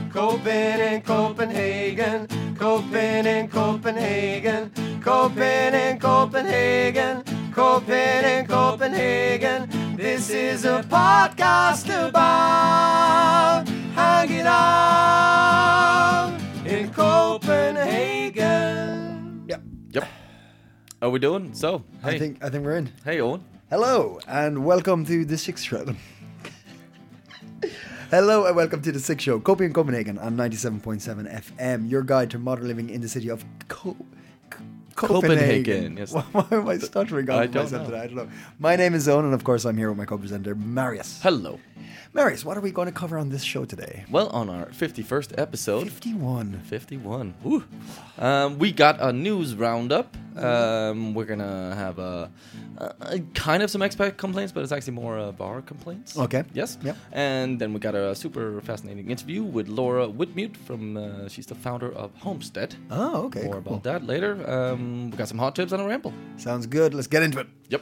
Copen in Copenhagen, Copen in Copenhagen, Copen in Copenhagen, Copen in Copenhagen. This is a podcast about hanging out in Copenhagen. Yep. Are we doing? So, hey. I think we're in. Hey, Owen. Hello and welcome to the Six Show. Hello and welcome to the Six Show, Copenhagen on 97.7 FM. Your guide to modern living in the city of Copenhagen. Yes. Why am I stuttering on I don't myself know. today? I don't know. My name is Owen, and of course I'm here with my co-presenter Marius. Hello. Marius, what are we going to cover on this show today? Well, on our 51st episode. 51. 51. Woo. We got a news roundup. We're going to have a kind of some expat complaints, but it's actually more bar complaints. Okay. Yes. Yep. And then we got a super fascinating interview with Laura Whitmute from, she's the founder of Homestead. Oh, okay. More cool. about that later. We got some hot tips on a ramble. Sounds good. Let's get into it. Yep.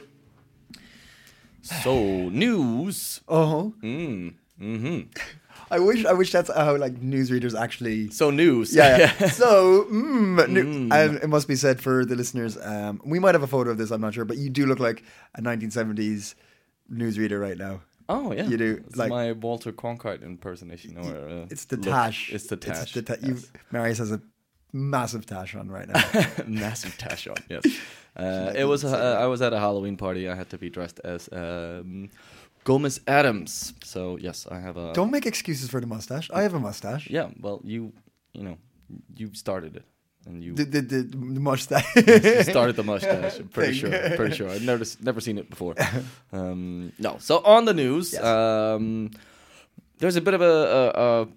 So, news. Oh. Mm-hmm. I wish that's how like newsreaders actually. So news. Yeah. So, and it must be said for the listeners. We might have a photo of this. I'm not sure, but you do look like a 1970s newsreader right now. Oh yeah, You do, It's like- my Walter Cronkite impersonation. Or, It's the look. tash. It's the tash. Yes. Marius has a massive tash on right now. Massive tash on. Yes. It was. I was at a Halloween party. I had to be dressed as Gomez Adams. So yes, I have a. Don't make excuses for the mustache. I have a mustache. Yeah. Well, you started it, and you The mustache. started the mustache. I'm pretty sure. I've never seen it before. No. So on the news, Yes. there's a bit of a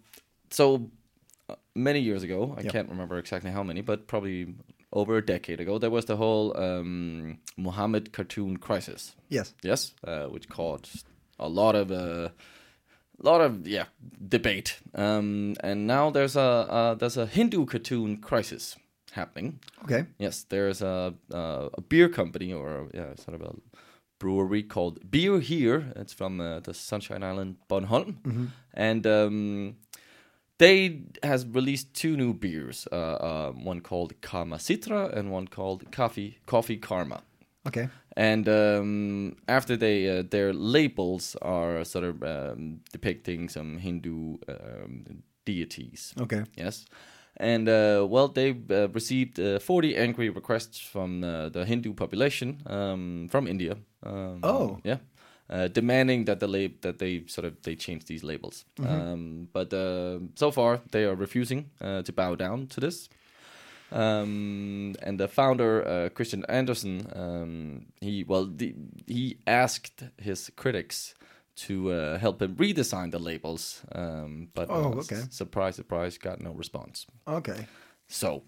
many years ago. I Yep. can't remember exactly how many, but probably over a decade ago, there was the whole Muhammad cartoon crisis. Yes. Yes, which caused a lot of debate. And now there's a Hindu cartoon crisis happening. Okay. Yes, there's a beer company or sort of a brewery called Beer Here. It's from the Sunshine Island, Bornholm, and they has released two new beers. One called Karma Citra and one called Coffee Karma. Okay. And after their labels are sort of depicting some Hindu deities. Okay. Yes. And, they've received 40 angry requests from the Hindu population from India. Yeah. Demanding that they change these labels. But so far, they are refusing to bow down to this. And the founder, Christian Andersen, he asked his critics to help him redesign the labels, but surprise, got no response. Okay. So,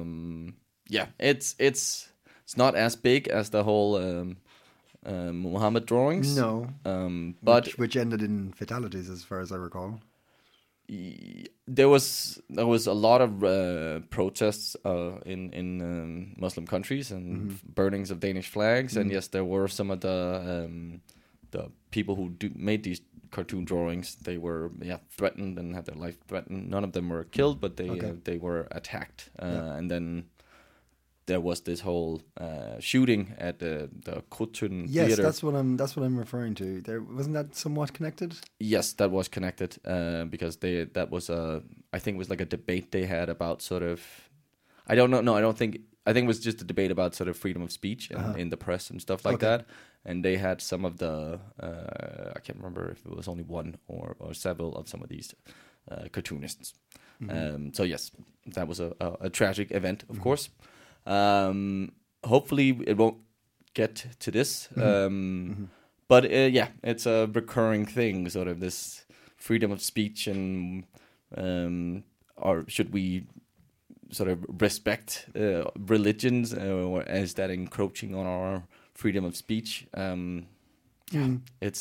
it's not as big as the whole Muhammad drawings. No. But which ended in fatalities, as far as I recall. there was a lot of protests in Muslim countries and burnings of Danish flags, and yes, there were some of the people who made these cartoon drawings. They were threatened and had their life threatened. None of them were killed, but they were attacked, and then there was this whole shooting at the Krudttønden Yes, Theater. that's what I'm referring to. There wasn't that somewhat connected? Yes, that was connected because that was I think it was like a debate they had about sort of, I don't know. No, I think it was just a debate about sort of freedom of speech in the press and stuff like that. And they had some of the I can't remember if it was only one or several of some of these cartoonists. So yes, that was a tragic event, of course. Hopefully it won't get to this. But it's a recurring thing, sort of this freedom of speech, and or should we sort of respect religions, or is that encroaching on our freedom of speech? It's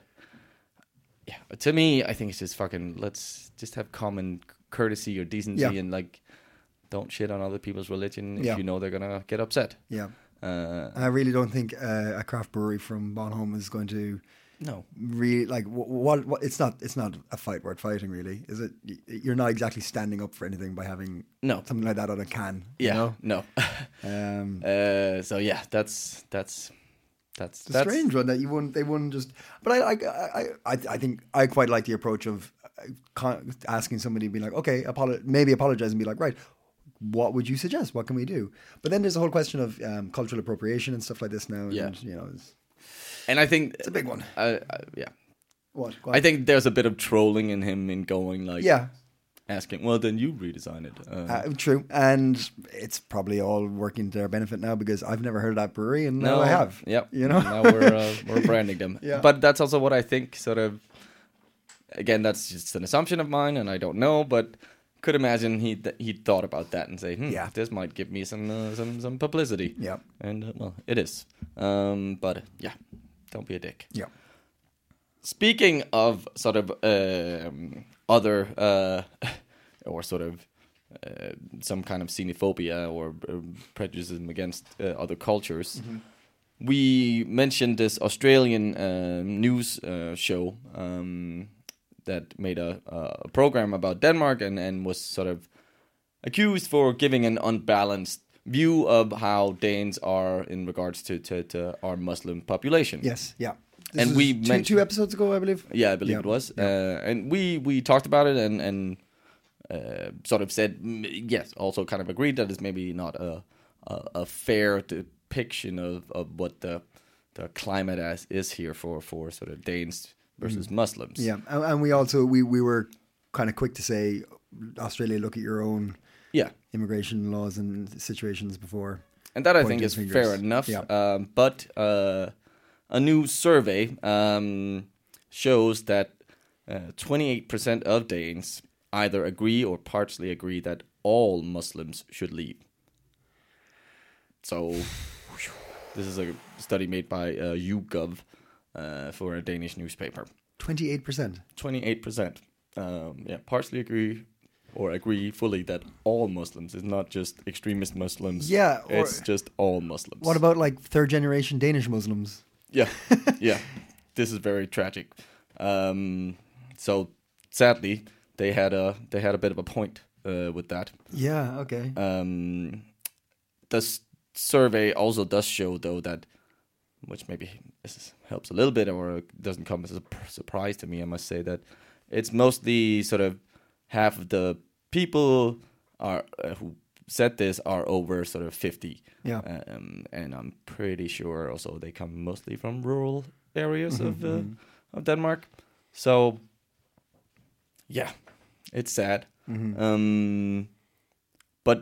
to me, I think it's just fucking, let's just have common courtesy or decency and like, don't shit on other people's religion if you know they're gonna get upset. Yeah. I really don't think a craft brewery from Bornholm is going to No. really like what it's not a fight worth fighting, really, is it? You're not exactly standing up for anything by having No. something like that on a can. Yeah. You know? No. So yeah, that's It's a strange one that they wouldn't just. But I think I quite like the approach of asking somebody, being like, okay, maybe apologize and be like, right, what would you suggest? What can we do? But then there's a whole question of cultural appropriation and stuff like this now. Yeah. And, and I think it's a big one. Yeah. What? I think there's a bit of trolling in him in going like, Yeah. asking, well, then you redesign it. True, and it's probably all working to their benefit now because I've never heard of that brewery, and now I have. Yep. You know, now we're branding them. Yeah. But that's also what I think. Sort of. Again, that's just an assumption of mine, and I don't know, but could imagine he thought about that and say, Yeah. this might give me some publicity. Yeah. And well, it is. But yeah, don't be a dick. Yeah. Speaking of sort of other or sort of some kind of xenophobia or prejudice against other cultures, we mentioned this Australian news show that made a program about Denmark and was sort of accused for giving an unbalanced view of how Danes are in regards to our Muslim population. Yes. Yeah. This And was we mentioned 2 episodes ago, I believe. Yeah, I believe it was. And we talked about it and sort of said, yes, also kind of agreed that it's maybe not a fair depiction of what the climate is here for sort of Danes versus Muslims. Yeah, and we also we were kind of quick to say, Australia, look at your own immigration laws and situations before. And that I think is fair enough. Yeah. But a new survey shows that 28% of Danes either agree or partially agree that all Muslims should leave. So this is a study made by YouGov for a Danish newspaper. 28%. 28%. Partially agree or agree fully that all Muslims is not just extremist Muslims. Yeah, it's just all Muslims. What about like third generation Danish Muslims? Yeah, yeah. This is very tragic. So sadly, they had a bit of a point with that. Yeah. Okay. The survey also does show, though, that, which maybe helps a little bit, or doesn't come as a surprise to me, I must say, that it's mostly sort of half of the people are who said this are over sort of 50. Yeah. And I'm pretty sure also they come mostly from rural areas of Denmark. So, yeah, it's sad. But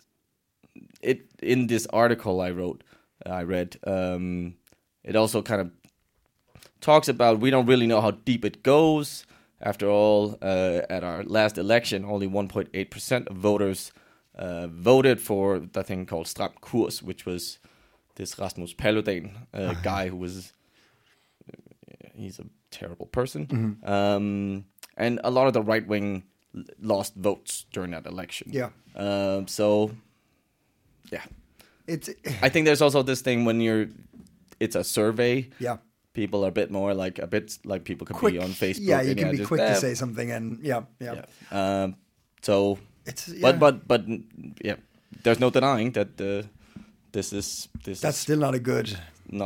in this article I read, it also kind of talks about we don't really know how deep it goes. After all, at our last election, only 1.8% of voters voted for the thing called Stram Kurs, which was this Rasmus Paludan guy who was... he's a terrible person. And a lot of the right wing lost votes during that election. Yeah. So, yeah. I think there's also this thing when it's a survey. Yeah. People are a bit like people could Quick, be on Facebook. Yeah, you can be just, quick to say something, and yeah. So, it's but yeah, there's no denying that this that's still not a good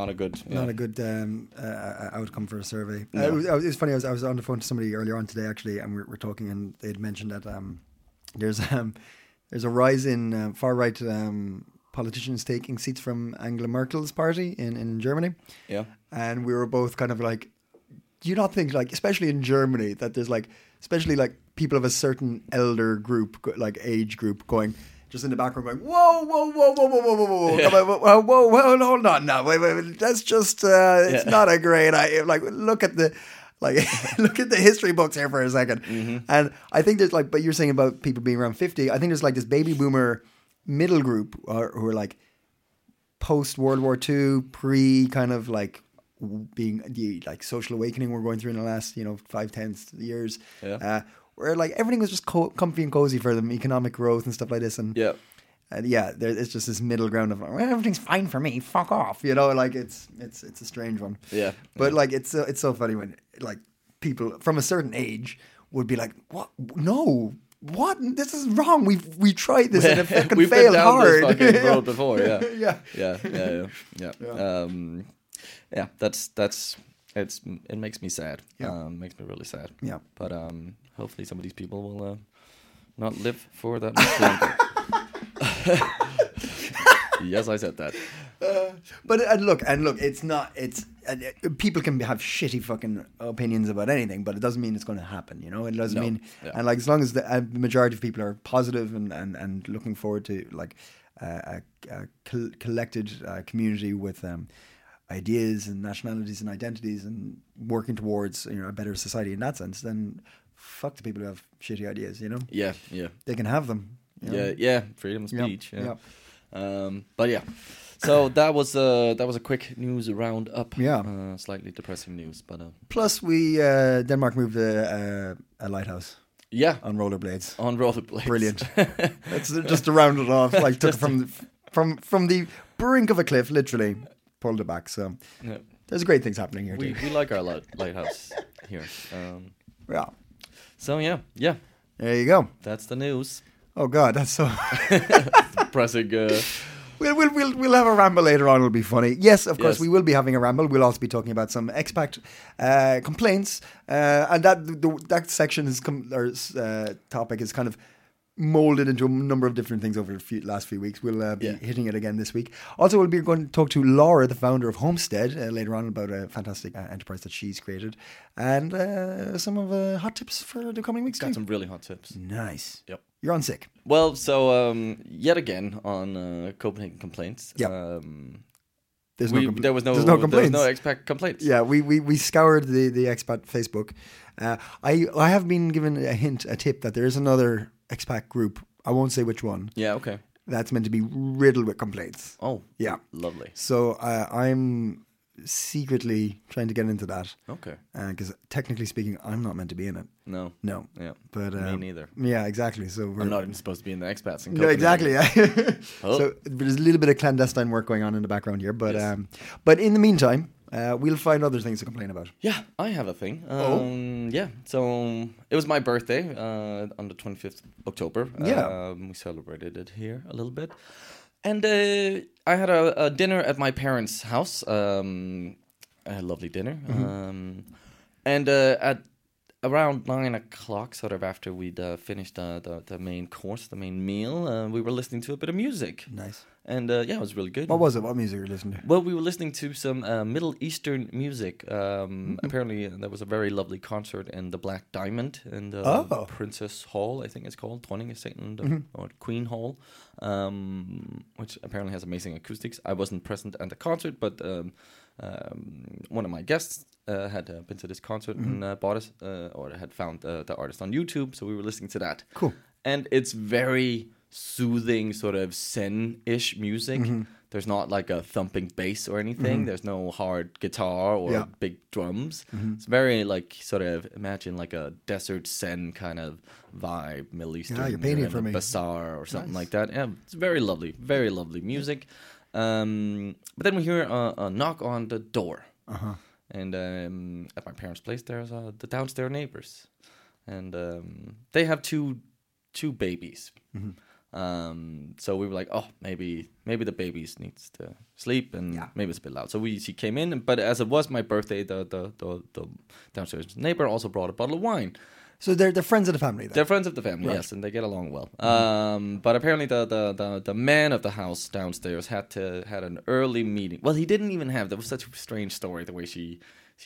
outcome for a survey. No. It was funny. I was on the phone to somebody earlier on today, actually, and we're talking, and they had mentioned that there's a rise in far right politicians taking seats from Angela Merkel's party in Germany. Yeah, and we were both kind of like, do you not think, like, especially in Germany, that there's like, especially like people of a certain elder group, like age group, going just in the background going, whoa, Yeah. whoa, hold on now, wait, that's just it's not a great idea. Like, look at the history books here for a second. And I think there's like, but you're saying about people being around 50, I think there's like this baby boomer middle group who are like post World War II, pre kind of like being the like social awakening we're going through in the last 5-10 years, where like everything was just comfy and cozy for them, economic growth and stuff like this, and And it's just this middle ground of well, everything's fine for me. Fuck off, you know. Like it's a strange one. Yeah. But like it's so funny when like people from a certain age would be like, "What? No, what? This is wrong. We tried this and it fucking We've failed been down hard." this fucking road before. Yeah. yeah. Yeah. It makes me sad. Yeah. Makes me really sad. Yeah. But hopefully some of these people will not live for that much longer. Yes, I said that. But look, it's not. It's people can have shitty fucking opinions about anything, but it doesn't mean it's going to happen. You know, it doesn't mean. Yeah. And like as long as the majority of people are positive and looking forward to like a collected community with ideas and nationalities and identities and working towards a better society in that sense, then fuck the people who have shitty ideas. You know. Yeah. They can have them. You know? Yeah. Freedom of speech. Yep. But yeah. So that was a quick news roundup. Yeah. Slightly depressing news, but Plus, we Denmark moved a lighthouse. Yeah, on rollerblades. On rollerblades, brilliant. That's just to round it off. Like took it from the brink of a cliff, literally pulled it back. So there's great things happening here. We like our lighthouse here. Yeah. So yeah. There you go. That's the news. Oh God, that's so depressing. We'll have a ramble later on. It'll be funny. Yes, of course, Yes. we will be having a ramble. We'll also be talking about some expat complaints, and that section topic is kind of molded into a number of different things over the last few weeks. We'll be hitting it again this week. Also, we'll be going to talk to Laura, the founder of Homestead, later on about a fantastic enterprise that she's created, and some of hot tips for the coming weeks. Got some really hot tips. Nice. Yep. You're on sick. Well, so yet again on Copenhagen complaints. Yeah. There was no complaints. There was no expat complaints. Yeah, we scoured the expat Facebook. I have been given a tip that there is another expat group. I won't say which one. Yeah, okay. That's meant to be riddled with complaints. Oh, yeah, lovely. So I'm secretly trying to get into that. Okay. Because technically speaking, I'm not meant to be in it. No. Yeah. But me neither. Yeah, exactly. So I'm not even supposed to be in the expats. In no, exactly. Yeah. Oh. So there's a little bit of clandestine work going on in the background here, but but in the meantime, we'll find other things to complain about. Yeah, I have a thing. Yeah, so it was my birthday on the 25th of October. Yeah. We celebrated it here a little bit. And I had a dinner at my parents' house, a lovely dinner. Mm-hmm. And at around 9 o'clock, sort of after we'd finished the main course, the main meal, we were listening to a bit of music. Nice. And it was really good. What was it? What music were you listening to? Well, we were listening to some Middle Eastern music. Apparently, there was a very lovely concert in the Black Diamond in the Princess Hall, I think it's called, Dronningesalen, or Queen Hall, which apparently has amazing acoustics. I wasn't present at the concert, but one of my guests had been to this concert and bought it, or had found the artist on YouTube, so we were listening to that. Cool. And it's very soothing, sort of zen-ish music. There's not like a thumping bass or anything. There's no hard guitar or big drums. It's very like sort of imagine like a desert zen kind of vibe, Middle Eastern. Yeah, you're painting it for me. Bazaar or something like that. Yeah, it's very lovely music. But then we hear a knock on the door. And at my parents' place, there's the downstairs neighbors, and they have two babies. So we were like, oh, maybe the babies needs to sleep, and maybe it's a bit loud. So she came in, but as it was my birthday, the downstairs neighbor also brought a bottle of wine. So they're friends of the family then? They're friends of the family, yes, and they get along well. But apparently the man of the house downstairs had an early meeting. Well, he didn't even have. That was such a strange story, the way she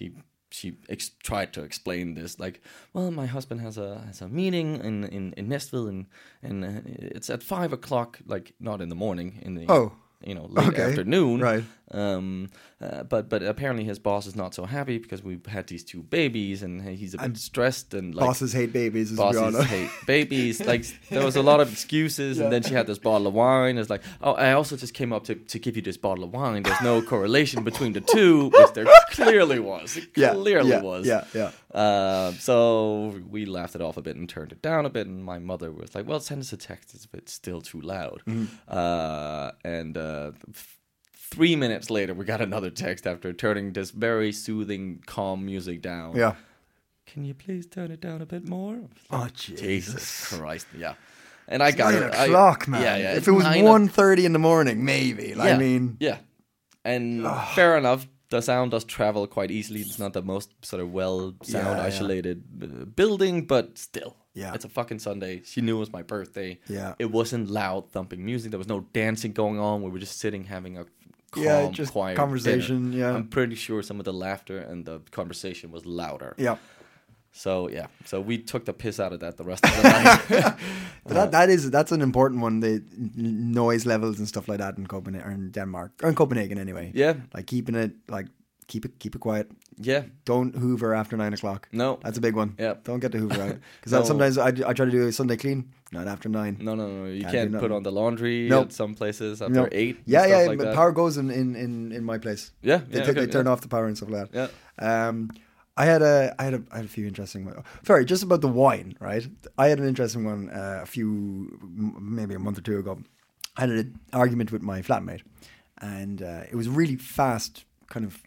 tried to explain this. Like, well, my husband has a meeting in Nestville, and it's at 5 o'clock. Like, not in the morning, in the late afternoon. Right. But apparently his boss is not so happy because we've had these 2 babies, and he's a bit stressed, and like Bosses hate babies, as we all bosses know. hate babies. Like there was a lot of excuses, and then she had this bottle of wine. It's like, oh, I also just came up to give you this bottle of wine. There's no correlation between the two, which there clearly was. It clearly was. Yeah. So we laughed it off a bit and turned it down a bit, and my mother was like, well, send us a text if it's still too loud. And 3 minutes later, we got another text after turning this very soothing, calm music down. Yeah. Can you please turn it down a bit more? Oh, Jesus Christ, yeah. And I got 9 it. o'clock, man. Yeah. If it was 1:30 in the morning, maybe. Yeah, I mean... Yeah. And fair enough, the sound does travel quite easily. It's not the most sort of well sound isolated building, but still. Yeah. It's a fucking Sunday. She knew it was my birthday. Yeah. It wasn't loud thumping music. There was no dancing going on. We were just sitting having a calm, just quiet conversation. dinner. Yeah. I'm pretty sure some of the laughter and the conversation was louder. Yeah. So we took the piss out of that the rest of the night. But that's an important one. The noise levels and stuff like that in Copenhagen, or in Denmark, or in Copenhagen anyway. Yeah. Like keeping it keep it quiet. Yeah. Don't hoover after 9 o'clock. No. That's a big one. Yeah. Don't get the hoover out. Because sometimes I try to do a Sunday clean, not after 9. No. You can't put on the laundry at some places after 8. Yeah, like but that. power goes in my place. Yeah. They turn off the power and stuff like that. Yeah. I had a few interesting ones. Sorry, just about the wine, right? I had an interesting one maybe a month or 2 ago. I had an argument with my flatmate, and it was a really fast, kind of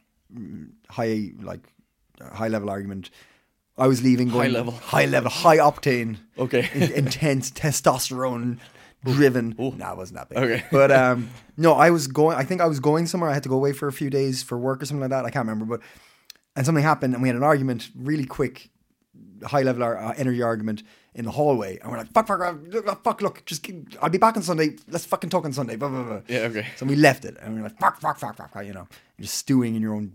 high level argument. I was leaving, going high octane, okay, intense testosterone driven. No, it wasn't that big. Okay, but no, I think I was going somewhere. I had to go away for a few days for work or something like that. I can't remember, and something happened, and we had an argument, really quick, high level energy argument in the hallway, and we're like, fuck, look, I'll be back on Sunday. Let's fucking talk on Sunday. Blah, blah, blah. Yeah, okay. So we left it, and we were like, fuck, you know, you're just stewing in your own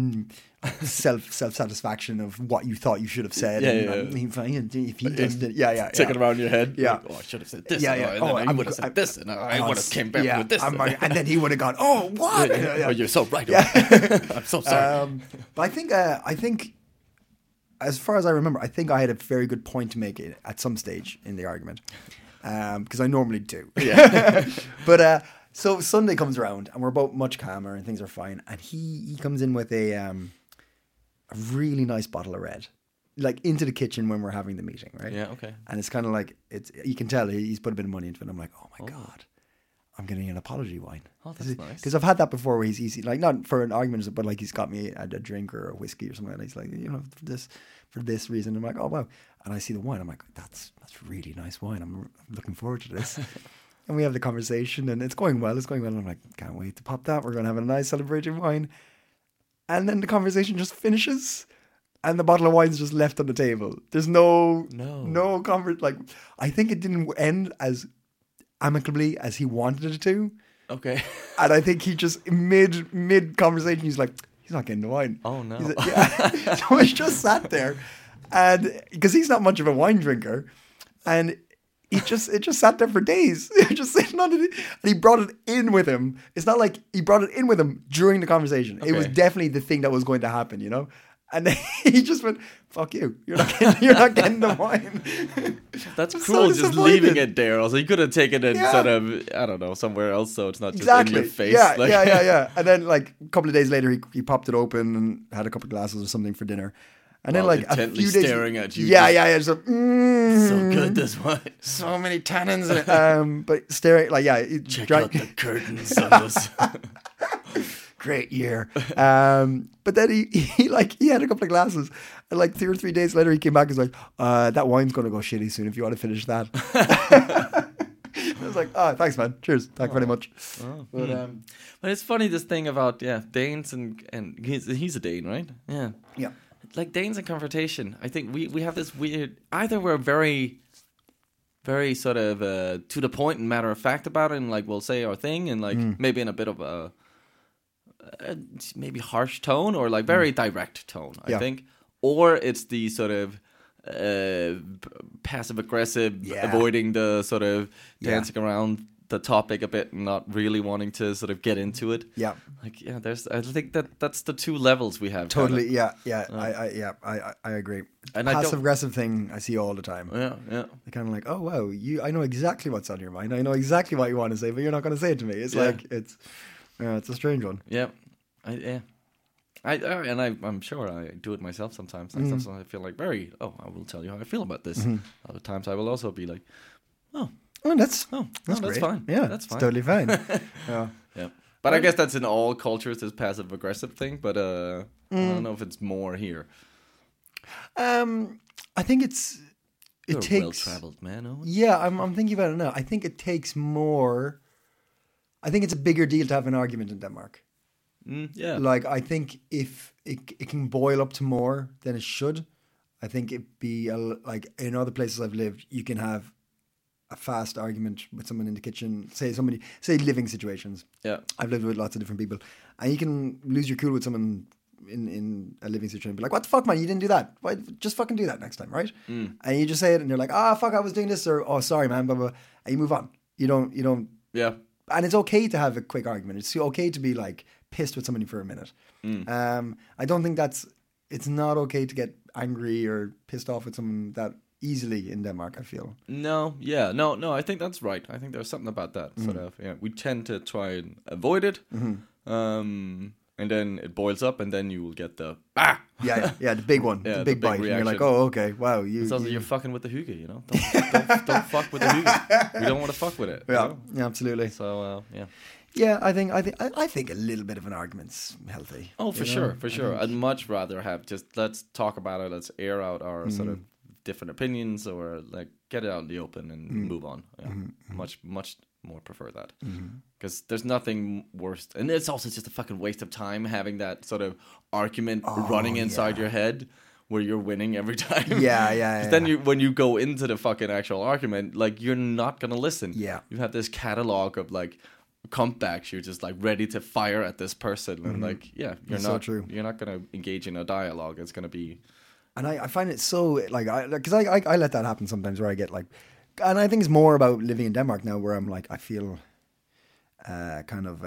self satisfaction of what you thought you should have said. If he does it, taking around your head. Yeah. Like, oh, I should have said this. I would have said this, and I would have came back with this. And then he would have gone, oh, what? Oh, you're so right. I'm so sorry. But I think. As far as I remember, I think I had a very good point to make at some stage in the argument, because I normally do. Yeah. But so Sunday comes around, and we're both much calmer, and things are fine. And he comes in with a really nice bottle of red, like into the kitchen when we're having the meeting, right? Yeah. Okay. And it's kind of like you can tell he's put a bit of money into it. I'm like, oh my god. I'm getting an apology wine. Oh, that's nice. Because I've had that before, where he's like, not for an argument, but like he's got me a drink or a whiskey or something, and he's like, you know, for this reason. I'm like, oh wow. And I see the wine. I'm like, that's really nice wine. I'm looking forward to this. And we have the conversation, and it's going well. And I'm like, can't wait to pop that. We're going to have a nice celebratory wine. And then the conversation just finishes, and the bottle of wine's just left on the table. There's no conversation. Like, I think it didn't end as amicably as he wanted it to. Okay. And I think he just mid conversation, he's like, he's not getting the wine. Oh no. Like, yeah. So I just sat there, and because he's not much of a wine drinker, and it just sat there for days. Just sitting on it, and he brought it in with him. It's not like he brought it in with him during the conversation. Okay. It was definitely the thing that was going to happen, you know. And then he just went, "Fuck you! You're not getting the wine." That's cruel, just leaving it there. Also, you could have taken it sort of, I don't know, somewhere else, so it's not just in your face. Yeah. And then, like a couple of days later, he popped it open and had a couple of glasses or something for dinner. And then, like a few days, staring at you. Yeah. So good, this wine. So many tannins in it. But staring, like, check out the curtains on this. Great year. But then he had a couple of glasses, and like 2 or 3 days later he came back and was like, that wine's gonna go shitty soon if you want to finish that. I was like, oh, thanks man, cheers, thank you very much. But it's funny, this thing about Danes and he's a Dane, right? Yeah like Danes and confrontation. I think we have this weird, either we're very very sort of to the point and matter of fact about it, and like we'll say our thing, and like maybe in a bit of a maybe harsh tone, or like very direct tone, I think. Or it's the sort of passive aggressive, avoiding the sort of dancing around the topic a bit and not really wanting to sort of get into it. Yeah. Like, I think that's the two levels we have. Totally, kinda. I agree. And Passive aggressive thing I see all the time. Yeah. They're kind of like, oh wow, I know exactly what's on your mind. I know exactly what you want to say, but you're not going to say it to me. It's like it's a strange one. Yeah, I'm sure I do it myself sometimes. Like sometimes I feel like I will tell you how I feel about this. Other times I will also be like, that's that's fine. Yeah, that's fine. It's totally fine. Yeah. But I guess that's in all cultures, this passive aggressive thing. But I don't know if it's more here. I think it You're takes well-traveled, man. Owen. Yeah, I'm thinking about it now. I think it takes more. I think it's a bigger deal to have an argument in Denmark. Yeah. Like, I think if it can boil up to more than it should, I think it'd be like in other places I've lived, you can have a fast argument with someone in the kitchen. Say living situations. Yeah. I've lived with lots of different people, and you can lose your cool with someone in a living situation. Be like, what the fuck, man? You didn't do that. Why? Just fucking do that next time, right? And you just say it, and you're like, fuck, I was doing this, or oh, sorry, man, blah blah, and you move on. You don't. Yeah. And it's okay to have a quick argument. It's okay to be like pissed with somebody for a minute. I don't think it's not okay to get angry or pissed off with someone that easily in Denmark, I feel. No, I think that's right. I think there's something about that sort of. Yeah, we tend to try and avoid it, and then it boils up, and then you will get the Yeah, the big one, the big bite. And you're like, oh, okay, wow. It's also you're fucking with the hygge, you know. Don't fuck with the hygge. We don't want to fuck with it. Yeah, you know? yeah, absolutely. So yeah. Yeah, I think a little bit of an argument's healthy. Oh, for sure. I'd much rather have just let's talk about it. Let's air out our sort of different opinions, or like get it out in the open and move on. Yeah. Much more prefer that, because there's nothing worse, and it's also just a fucking waste of time having that sort of argument running inside your head where you're winning every time. Yeah. Then when you go into the fucking actual argument, like you're not gonna listen. Yeah, you have this catalog of like comebacks. You're just like ready to fire at this person, and like you're not gonna engage in a dialogue. It's gonna be. And I find it so, like, because I let that happen sometimes where I get, like, and I think it's more about living in Denmark now where I'm, like, I feel kind of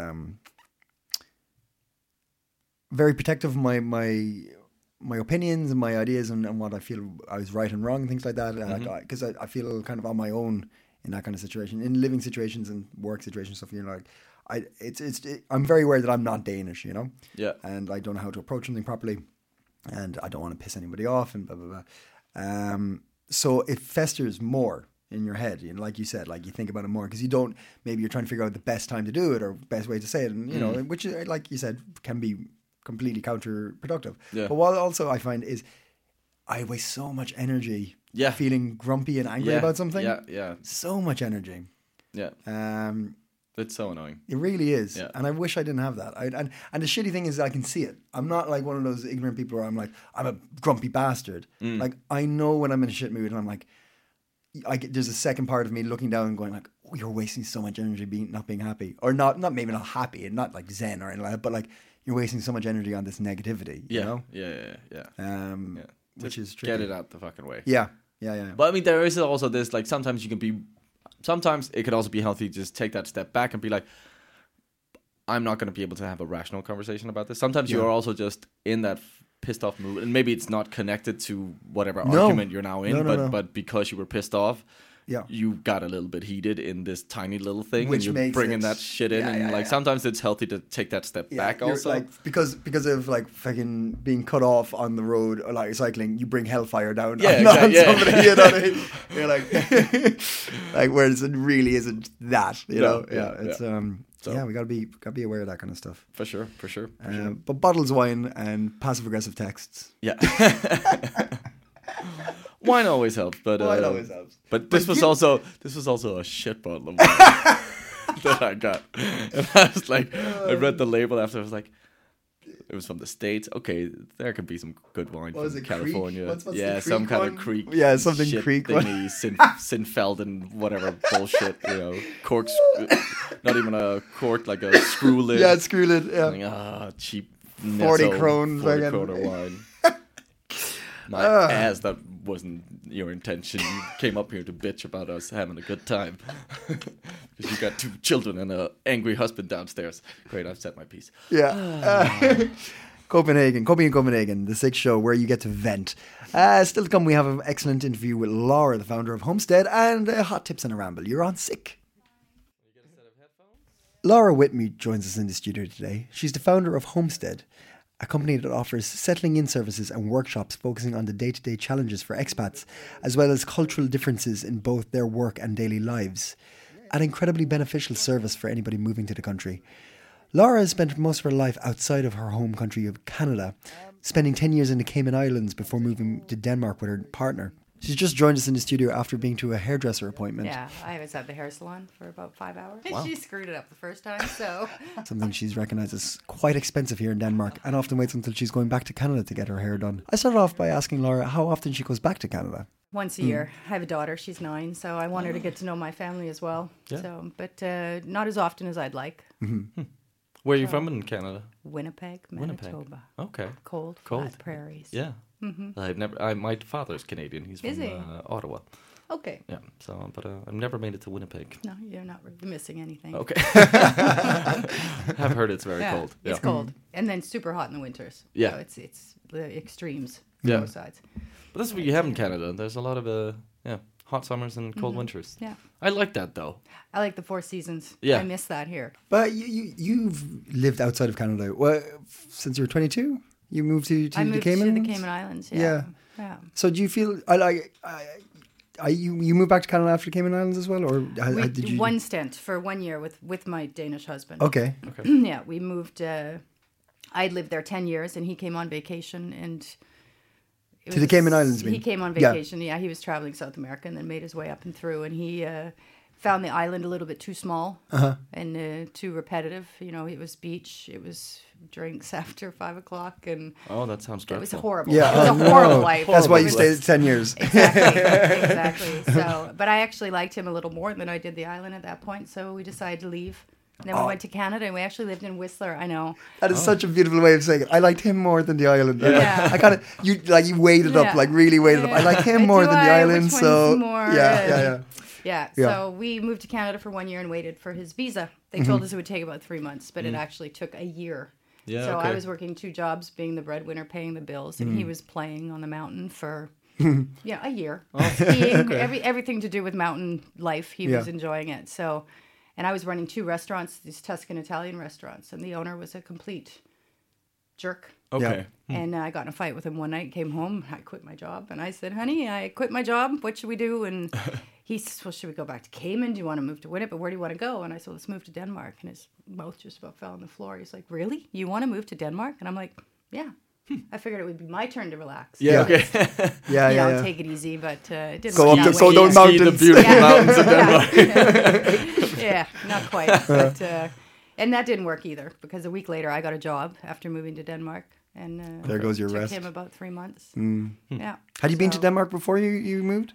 very protective of my opinions and my ideas and what I feel I was right and wrong and things like that. Because I feel kind of on my own in that kind of situation, in living situations and work situations, stuff, you know, like, I'm very aware that I'm not Danish, you know? Yeah. And I don't know how to approach something properly. And I don't want to piss anybody off and blah, blah, blah. So it festers more in your head. You know, like you said, like you think about it more because maybe you're trying to figure out the best time to do it or best way to say it. And, you know, which, like you said, can be completely counterproductive. Yeah. But what also I find is I waste so much energy feeling grumpy and angry about something. Yeah. So much energy. Yeah. It's so annoying. It really is. Yeah. And I wish I didn't have that. And the shitty thing is I can see it. I'm not like one of those ignorant people where I'm like, I'm a grumpy bastard. Like, I know when I'm in a shit mood and I'm like, there's a second part of me looking down and going like, oh, you're wasting so much energy not being happy. Or maybe not happy and not like zen or anything like that, but like you're wasting so much energy on this negativity, you know? Yeah. Which is tricky. Get it out the fucking way. Yeah. But I mean, there is also this, like, sometimes it could also be healthy to just take that step back and be like, I'm not going to be able to have a rational conversation about this. Sometimes you are also just in that pissed off mood, and maybe it's not connected to whatever argument you're now in, but because you were pissed off, you got a little bit heated in this tiny little thing, which and you're bringing that shit in, and sometimes it's healthy to take that step back also. Like, because of like fucking being cut off on the road or like cycling, you bring hellfire down on somebody, you know what I mean? You're like, like whereas it really isn't that, you know? It's So we gotta be aware of that kind of stuff. For sure. But bottles of wine and passive aggressive texts. Yeah. Wine always helps, but wine always helps. But this was also a shit bottle of wine that I got. And I was like, I read the label after. I was like, it was from the States. Okay, there could be some good wine from California. What's some kind of creek. Yeah, something shit creek. Thingy, Sinfelden, whatever bullshit. You know, corks. Not even a cork, like a screw lid. Yeah, screw lid. Yeah. Like, cheap. 40 kroner. 40 kroner wine. My ass, that wasn't your intention. You came up here to bitch about us having a good time. Because you got 2 children and an angry husband downstairs. Great, I've said my piece. Yeah. Copenhagen, Copy in Copenhagen, the 6th show where you get to vent. Still to come, we have an excellent interview with Laura, the founder of Homestead, and hot tips and a ramble. You're on sick. Laura Whitney joins us in the studio today. She's the founder of Homestead, a company that offers settling in services and workshops focusing on the day-to-day challenges for expats, as well as cultural differences in both their work and daily lives. An incredibly beneficial service for anybody moving to the country. Laura has spent most of her life outside of her home country of Canada, spending 10 years in the Cayman Islands before moving to Denmark with her partner. She's just joined us in the studio after being to a hairdresser appointment. Yeah, I was at the hair salon for about 5 hours. Wow. She screwed it up the first time, so... Something she's recognised as quite expensive here in Denmark, and often waits until she's going back to Canada to get her hair done. I started off by asking Laura how often she goes back to Canada. Once a year. I have a daughter, she's 9, so I want her to get to know my family as well. Yeah. So, but not as often as I'd like. Mm-hmm. Where are you from in Canada? Winnipeg, Manitoba. Okay. Cold. Cold. Flat prairies. Yeah. Mm-hmm. My father's Canadian. He's Is from he? Ottawa. Okay. Yeah. So, but I've never made it to Winnipeg. No, you're not really missing anything. Okay. I've heard it's very cold. It's cold. And then super hot in the winters. Yeah. So it's the extremes. Yeah. Both sides. But that's what you have in Canada. There's a lot of hot summers and cold winters. Yeah. I like that though. I like the 4 seasons. Yeah. I miss that here. But you've lived outside of Canada since you were 22? You moved to the Cayman Islands? I moved to the Cayman Islands, yeah. So do you feel... you moved back to Canada after the Cayman Islands as well? Or did you... One stint for 1 year with my Danish husband. Okay. Yeah, we moved... I'd lived there 10 years and he came on vacation and... To the Cayman Islands, He came on vacation, yeah. He was traveling South America and then made his way up and through. And he found the island a little bit too small and too repetitive. You know, it was beach, it was drinks after 5 o'clock. And oh, that sounds dreadful. It was horrible. Yeah, it was a horrible life. That's why you stayed 10 years. Exactly. So, but I actually liked him a little more than I did the island at that point. So we decided to leave. And then we went to Canada, and we actually lived in Whistler. I know that is such a beautiful way of saying it. I liked him more than the island. Yeah. I kind of you weighed it up, like really weighed it up. I like him more than the island. Which so one's more, yeah. So we moved to Canada for 1 year and waited for his visa. They told us it would take about 3 months, but it actually took a year. Yeah. So okay. I was working 2 jobs, being the breadwinner, paying the bills, and he was playing on the mountain for a year. Skiing, everything to do with mountain life. He was enjoying it. So. And I was running 2 restaurants, these Tuscan Italian restaurants, and the owner was a complete jerk. Okay. Yeah. And I got in a fight with him one night, came home, I quit my job. And I said, honey, I quit my job. What should we do? And he says, well, should we go back to Cayman? Do you want to move to Winnipeg? Where do you want to go? And I said, let's move to Denmark. And his mouth just about fell on the floor. He's like, really? You want to move to Denmark? And I'm like, yeah. I figured it would be my turn to relax. Yeah, okay. yeah. Take it easy, but it didn't go work up that to way. those mountains. The beautiful mountains of Denmark. Yeah, not quite. But, and that didn't work either, because a week later I got a job after moving to Denmark. And there goes your took rest. him about 3 months. Yeah. Had you been to Denmark before you moved?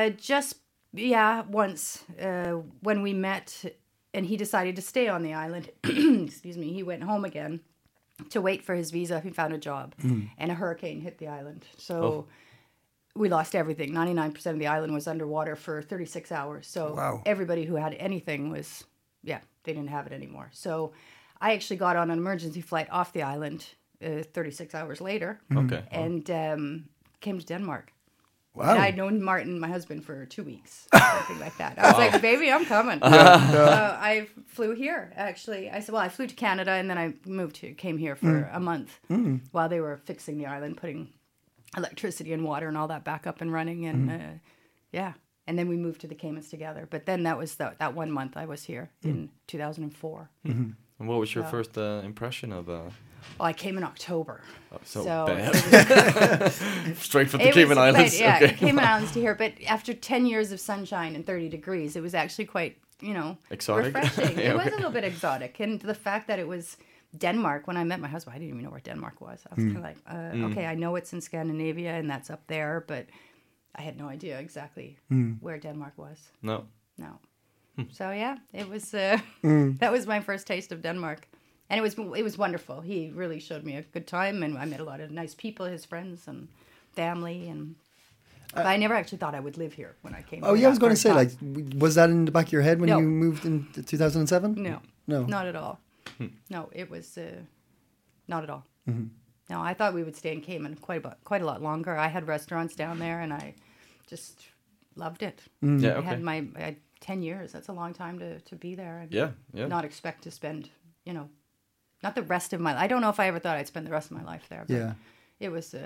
Once when we met, and he decided to stay on the island. Excuse me. He went home again to wait for his visa. He found a job, and a hurricane hit the island. So we lost everything. 99% of the island was underwater for 36 hours. So everybody who had anything was, they didn't have it anymore. So I actually got on an emergency flight off the island 36 hours later. Okay. And came to Denmark. Wow. And I'd known Martin, my husband, for 2 weeks, something like that. I was like, baby, I'm coming. I flew here, actually. I said, well, I flew to Canada, and then I came here for a month while they were fixing the island, putting electricity and water and all that back up and running. And, and then we moved to the Caymans together. But then that was that 1 month I was here in 2004. And what was your first impression of... Well, I came in October. Oh, so bad. Straight from the Cayman Islands. Yeah, Cayman Islands to here. But after 10 years of sunshine and 30 degrees, it was actually quite, exotic. Refreshing. It was a little bit exotic. And the fact that it was Denmark, when I met my husband, I didn't even know where Denmark was. I was kind of like, okay, I know it's in Scandinavia and that's up there, but I had no idea exactly where Denmark was. No. So, it was, that was my first taste of Denmark. And it was wonderful. He really showed me a good time, and I met a lot of nice people, his friends and family, and But I never actually thought I would live here when I came. Oh, here yeah, I was that going to first say, time. like, was that in the back of your head when No. you moved in 2007? No, No. not at all. No, it was not at all. Mm-hmm. No, I thought we would stay in Cayman quite a lot longer. I had restaurants down there, and I just loved it. Yeah, I okay. had 10 years. That's a long time to be there, and Yeah. not expect to spend, not the rest of my. I don't know if I ever thought I'd spend the rest of my life there. But Yeah. it was.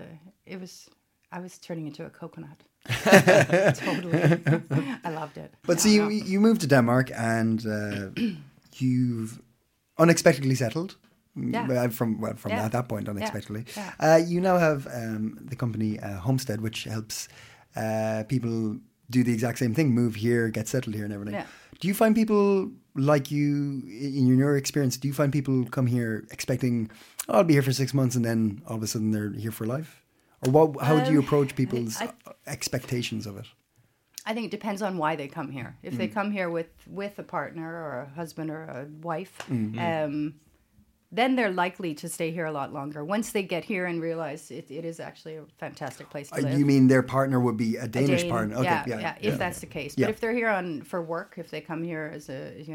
I was turning into a coconut. Totally, I loved it. But so you moved to Denmark and you've unexpectedly settled. Yeah. From Yeah. at that point, unexpectedly. Yeah. You now have the company Homestead, which helps people do the exact same thing: move here, get settled here, and everything. Yeah. Do you find people like you, in your experience? Do you find people come here expecting, "Oh, I'll be here for 6 months," and then all of a sudden they're here for life? Or what? How do you approach people's expectations of it? I think it depends on why they come here. If they come here with a partner or a husband or a wife, then they're likely to stay here a lot longer. Once they get here and realize it is actually a fantastic place to live. You mean their partner would be a Danish partner? Okay, yeah, if that's the case. But if they're here for work, if they come here as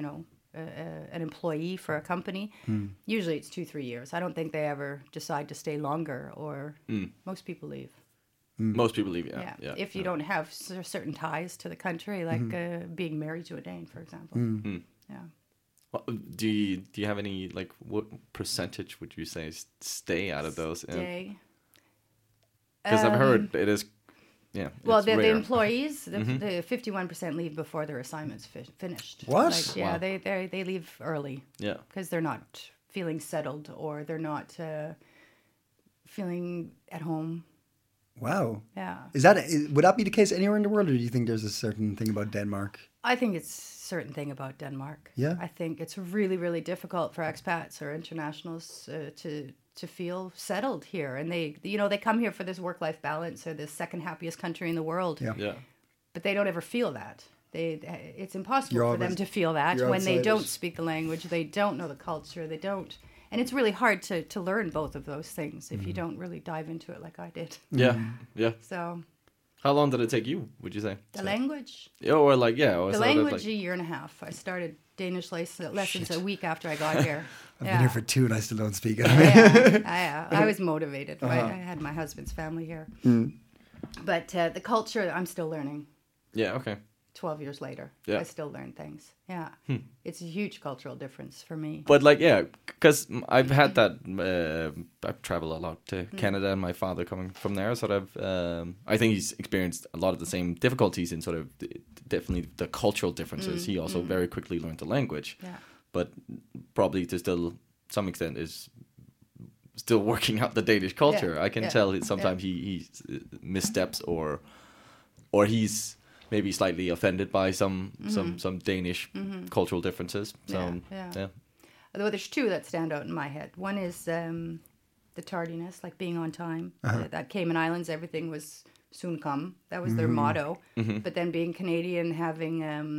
an employee for a company, usually it's 2-3 years. I don't think they ever decide to stay longer, or most people leave. Most people leave. Yeah. If you don't have certain ties to the country, like being married to a Dane, for example. Yeah. Well, do you have any, like, what percentage would you say stay out of those? Stay. Because I've heard it is. Yeah. Well, it's the rare. employees, the 51% leave before their assignment's finished. What? Like, yeah, Wow. they leave early. Yeah. Because they're not feeling settled, or they're not feeling at home. Wow. Yeah. Would that be the case anywhere in the world, or do you think there's a certain thing about Denmark? I think it's a certain thing about Denmark. Yeah. I think it's really, really difficult for expats or internationals to feel settled here, and they come here for this work-life balance, or the second happiest country in the world. Yeah. Yeah. But they don't ever feel that. It's impossible You're for them always- to feel that you're when they outsiders. don't speak the language, they don't know the culture, they don't. And it's really hard to learn both of those things if you don't really dive into it like I did. Yeah. Yeah. So How long did it take you, would you say? the language, Yeah, or like, yeah. Or the sort of language, like, a year and a half. I started Danish lessons a week after I got here. I've been here for 2 and I still don't speak it. I was motivated. I had my husband's family here. But the culture, I'm still learning. Yeah, okay. 12 years later, Yeah. I still learn things. Yeah, it's a huge cultural difference for me. But like, yeah, because I've had that. I've traveled a lot to Canada, and my father coming from there, sort of. I think he's experienced a lot of the same difficulties in sort of definitely the cultural differences. He also very quickly learned the language, but probably to still some extent is still working out the Danish culture. I can tell sometimes he missteps or he's maybe slightly offended by some Danish cultural differences. So yeah. Although there's two that stand out in my head. One is the tardiness, like being on time. That Cayman Islands, everything was soon come. That was their motto. But then being Canadian, having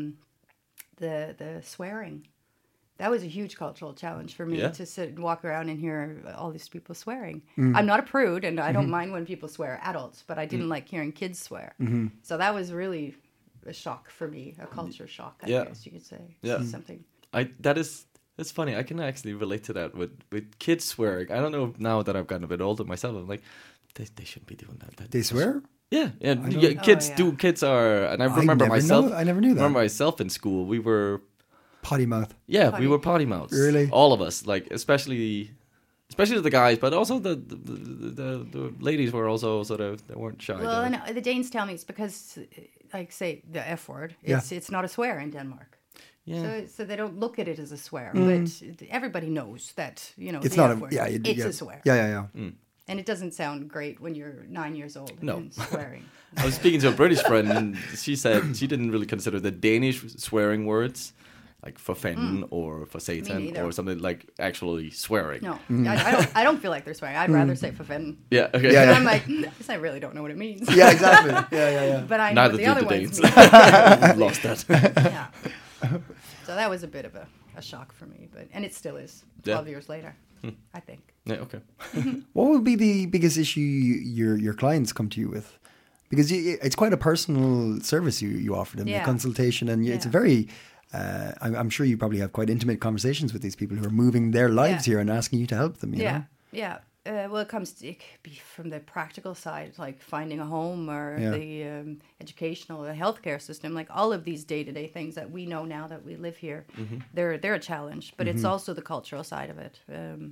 the swearing. That was a huge cultural challenge for me to sit and walk around and hear all these people swearing. I'm not a prude, and I don't mind when people swear, adults, but I didn't like hearing kids swear. So that was really a shock for me, a culture shock, I guess you could say. Yeah. Something. That's funny. I can actually relate to that with kids swearing. I don't know now that I've gotten a bit older myself. I'm like, they shouldn't be doing that. They swear? Yeah. Kids do. Kids are, and I remember myself. I never knew that. I remember myself in school. We were Potty mouth. Yeah, we were potty mouths. Really? All of us, like especially the guys, but also the ladies were also sort of, they weren't shy. Well, and the Danes tell me it's because, like, say the F word, it's not a swear in Denmark. Yeah. So they don't look at it as a swear, but everybody knows that It's the not F a word, yeah. a swear. Yeah. And it doesn't sound great when you're 9 years old and swearing. I was speaking to a British friend, and she said she didn't really consider the Danish swearing words, like for fanden or for Satan or something, like actually swearing. No, I don't feel like they're swearing. I'd rather say for fanden. Yeah, okay. Yeah. I'm like, I really don't know what it means. Yeah, exactly. Yeah. But I know Neither what the other did the ones Danes. mean. Lost that. Yeah. So that was a bit of a shock for me, and it still is 12 years later, I think. Yeah, okay. What would be the biggest issue your clients come to you with? because it's quite a personal service you offer them, the consultation, and it's a very. I'm sure you probably have quite intimate conversations with these people who are moving their lives here and asking you to help them. You know? Yeah. Well, it could be from the practical side, like finding a home or the educational, the healthcare system, like all of these day-to-day things that we know now that we live here. They're a challenge, but it's also the cultural side of it.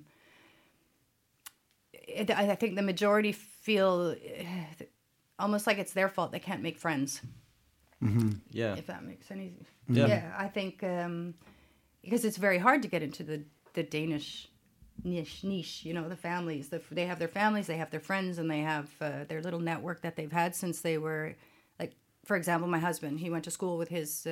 I think the majority feel almost like it's their fault they can't make friends. Yeah. If that makes any sense. Yeah, I think because it's very hard to get into the Danish niche, you know, the families. They have their families, they have their friends, and they have their little network that they've had since they were, like, for example, my husband, he went to school with his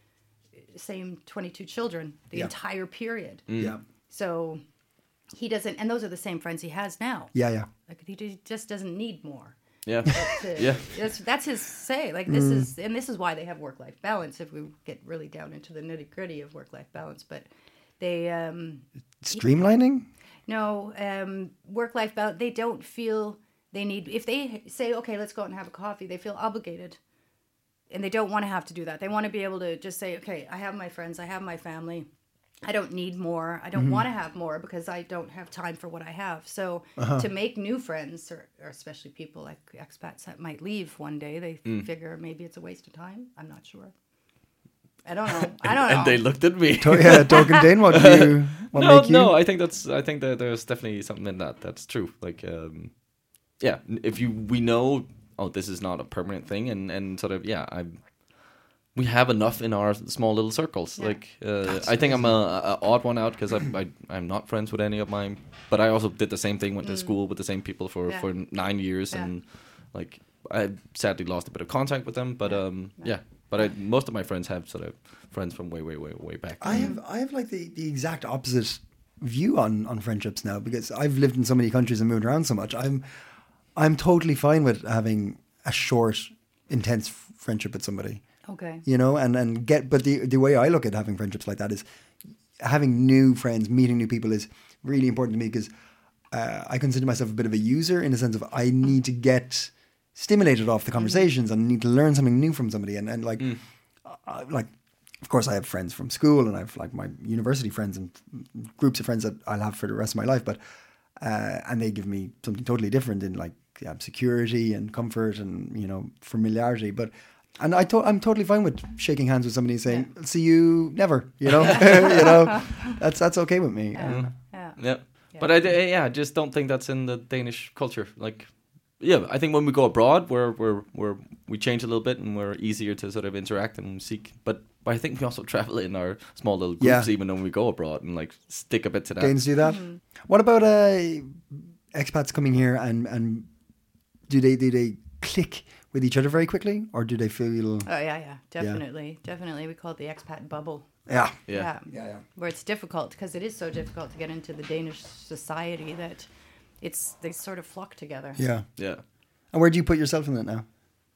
same 22 children the entire period. Yeah. So he doesn't, and those are the same friends he has now. Yeah. Like, he just doesn't need more. Yeah. That's his say. Like, this is why they have work-life balance, if we get really down into the nitty-gritty of work-life balance. But they streamlining? No, work-life balance. They don't feel they need. If they say, "Okay, let's go out and have a coffee," they feel obligated, and they don't want to have to do that. They want to be able to just say, "Okay, I have my friends, I have my family. I don't need more. I don't want to have more because I don't have time for what I have." So to make new friends, or especially people like expats that might leave one day, they figure maybe it's a waste of time. I'm not sure. I don't know. And they looked at me. Token Dane, what make you? No. I think that there's definitely something in that. That's true. Like, if we know, this is not a permanent thing, and sort of, we have enough in our small little circles. Yeah. Like, I think I'm a odd one out because I'm not friends with any of mine. But I also did the same thing. Went to school with the same people for 9 years, and like I sadly lost a bit of contact with them. But But most of my friends have sort of friends from way back. I have like the exact opposite view on friendships now, because I've lived in so many countries and moved around so much. I'm totally fine with having a short, intense friendship with somebody. Okay. You know, but the way I look at having friendships like that is having new friends, meeting new people is really important to me, because I consider myself a bit of a user, in the sense of I need to get stimulated off the conversations and need to learn something new from somebody. And like, of course I have friends from school, and I have like my university friends and groups of friends that I'll have for the rest of my life, but and they give me something totally different in like security and comfort and, you know, familiarity. But I'm totally fine with shaking hands with somebody and saying, "I'll see you never," you know. You know, that's okay with me. Yeah. But I just don't think that's in the Danish culture. Like, I think when we go abroad, we change a little bit and we're easier to sort of interact and seek. But I think we also travel in our small little groups, even when we go abroad, and like stick a bit to that. Danes do that. Mm-hmm. What about expats coming here, and do they click with each other very quickly, or do they feel? Oh yeah, definitely. We call it the expat bubble. Yeah. Where it's difficult, because it is so difficult to get into the Danish society that they sort of flock together. Yeah. And where do you put yourself in that now?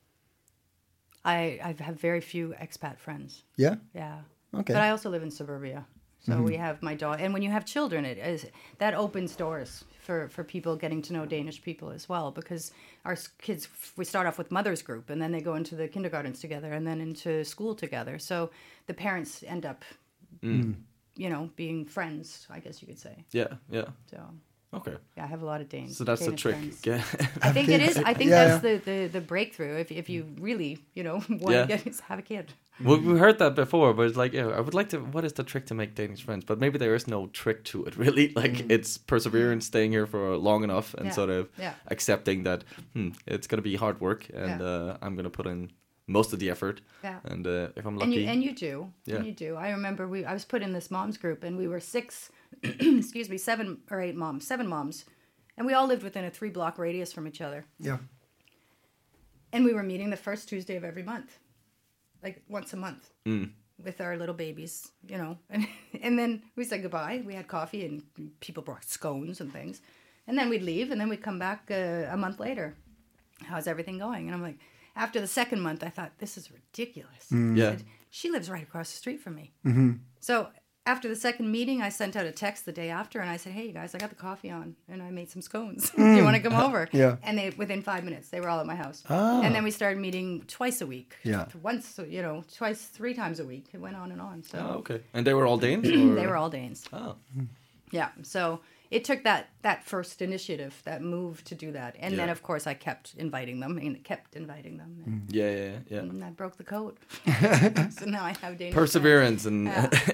I have very few expat friends. Yeah. Yeah. Okay. But I also live in suburbia, so we have my dog. And when you have children, that opens doors for people getting to know Danish people as well, because our kids, we start off with mother's group, and then they go into the kindergartens together, and then into school together. So the parents end up, you know, being friends, I guess you could say. Yeah. So. Okay. Yeah, I have a lot of Danes. So that's Danish the trick. Yeah. I think it is. I think that's the breakthrough. If you really, you know, want to have a kid. Well, we heard that before, but it's like, I would like to. What is the trick to make Danish friends? But maybe there is no trick to it, really. Like, it's perseverance, staying here for long enough, and sort of accepting that it's going to be hard work, and I'm going to put in most of the effort. Yeah. And if I'm lucky, and you do. Yeah. And you do. I remember I was put in this moms group, and we were 7 moms, and we all lived within a 3-block radius from each other. Yeah. And we were meeting the first Tuesday of every month, like once a month, with our little babies, you know. And then we said goodbye. We had coffee, and people brought scones and things. And then we'd leave, and then we'd come back a month later. How's everything going? And I'm like, after the second month, I thought, this is ridiculous. I said, she lives right across the street from me. Mm-hmm. So after the second meeting, I sent out a text the day after, and I said, "Hey, you guys, I got the coffee on, and I made some scones. Do you want to come over?" Yeah. And within 5 minutes, they were all at my house. Ah. And then we started meeting twice a week. Yeah. Once, twice, 3 times a week. It went on and on. So Oh, okay. And they were all Danes? Or? they were all Danes. Oh. Yeah. So it took that first initiative, that move to do that. And then, of course, I kept inviting them and kept inviting them. And, Yeah. and I broke the code. So now I have Danish Perseverance and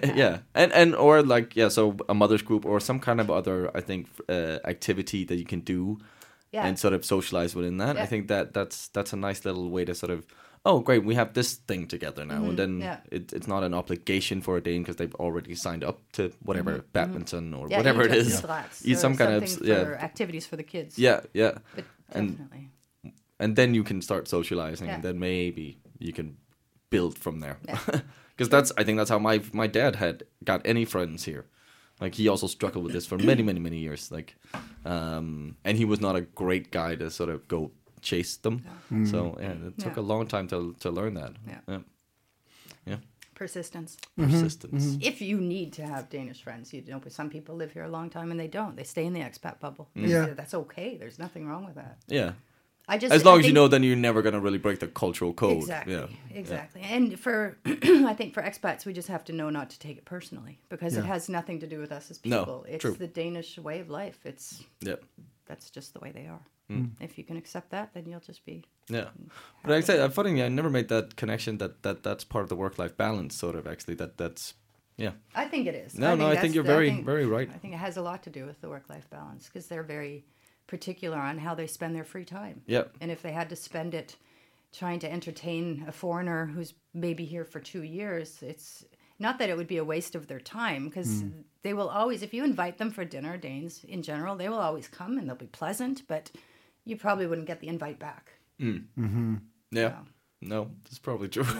and or like so a mother's group or some kind of other activity that you can do and sort of socialize within that. Yeah. I think that's a nice little way to sort of great, we have this thing together now, and then it's not an obligation for a Dane because they've already signed up to whatever badminton or whatever it is. Eat some kind of for activities for the kids. Yeah. But definitely. And then you can start socializing, and then maybe you can build from there. Because I think that's how my dad got any friends here. Like he also struggled with this for many years. Like, and he was not a great guy to sort of go chase them. So it took a long time to learn that. Yeah. Persistence. Persistence. If you need to have Danish friends, but some people live here a long time and they don't. They stay in the expat bubble. Yeah. That's okay. There's nothing wrong with that. Yeah. As long as you know, then you're never going to really break the cultural code. Exactly. And I think for expats, we just have to know not to take it personally because it has nothing to do with us as people. No, it's true. the Danish way of life. That's just the way they are. If you can accept that, then you'll just be. Yeah, but like I said, funny, I never made that connection that's part of the work-life balance. Sort of actually, that's. Yeah. I think it is. I think you're very right. I think it has a lot to do with the work-life balance because they're very particular on how they spend their free time. Yeah. And if they had to spend it trying to entertain a foreigner who's maybe here for 2 years, it's not that it would be a waste of their time because they will always, if you invite them for dinner, Danes in general, they will always come and they'll be pleasant, but you probably wouldn't get the invite back. Yeah. No, that's probably true.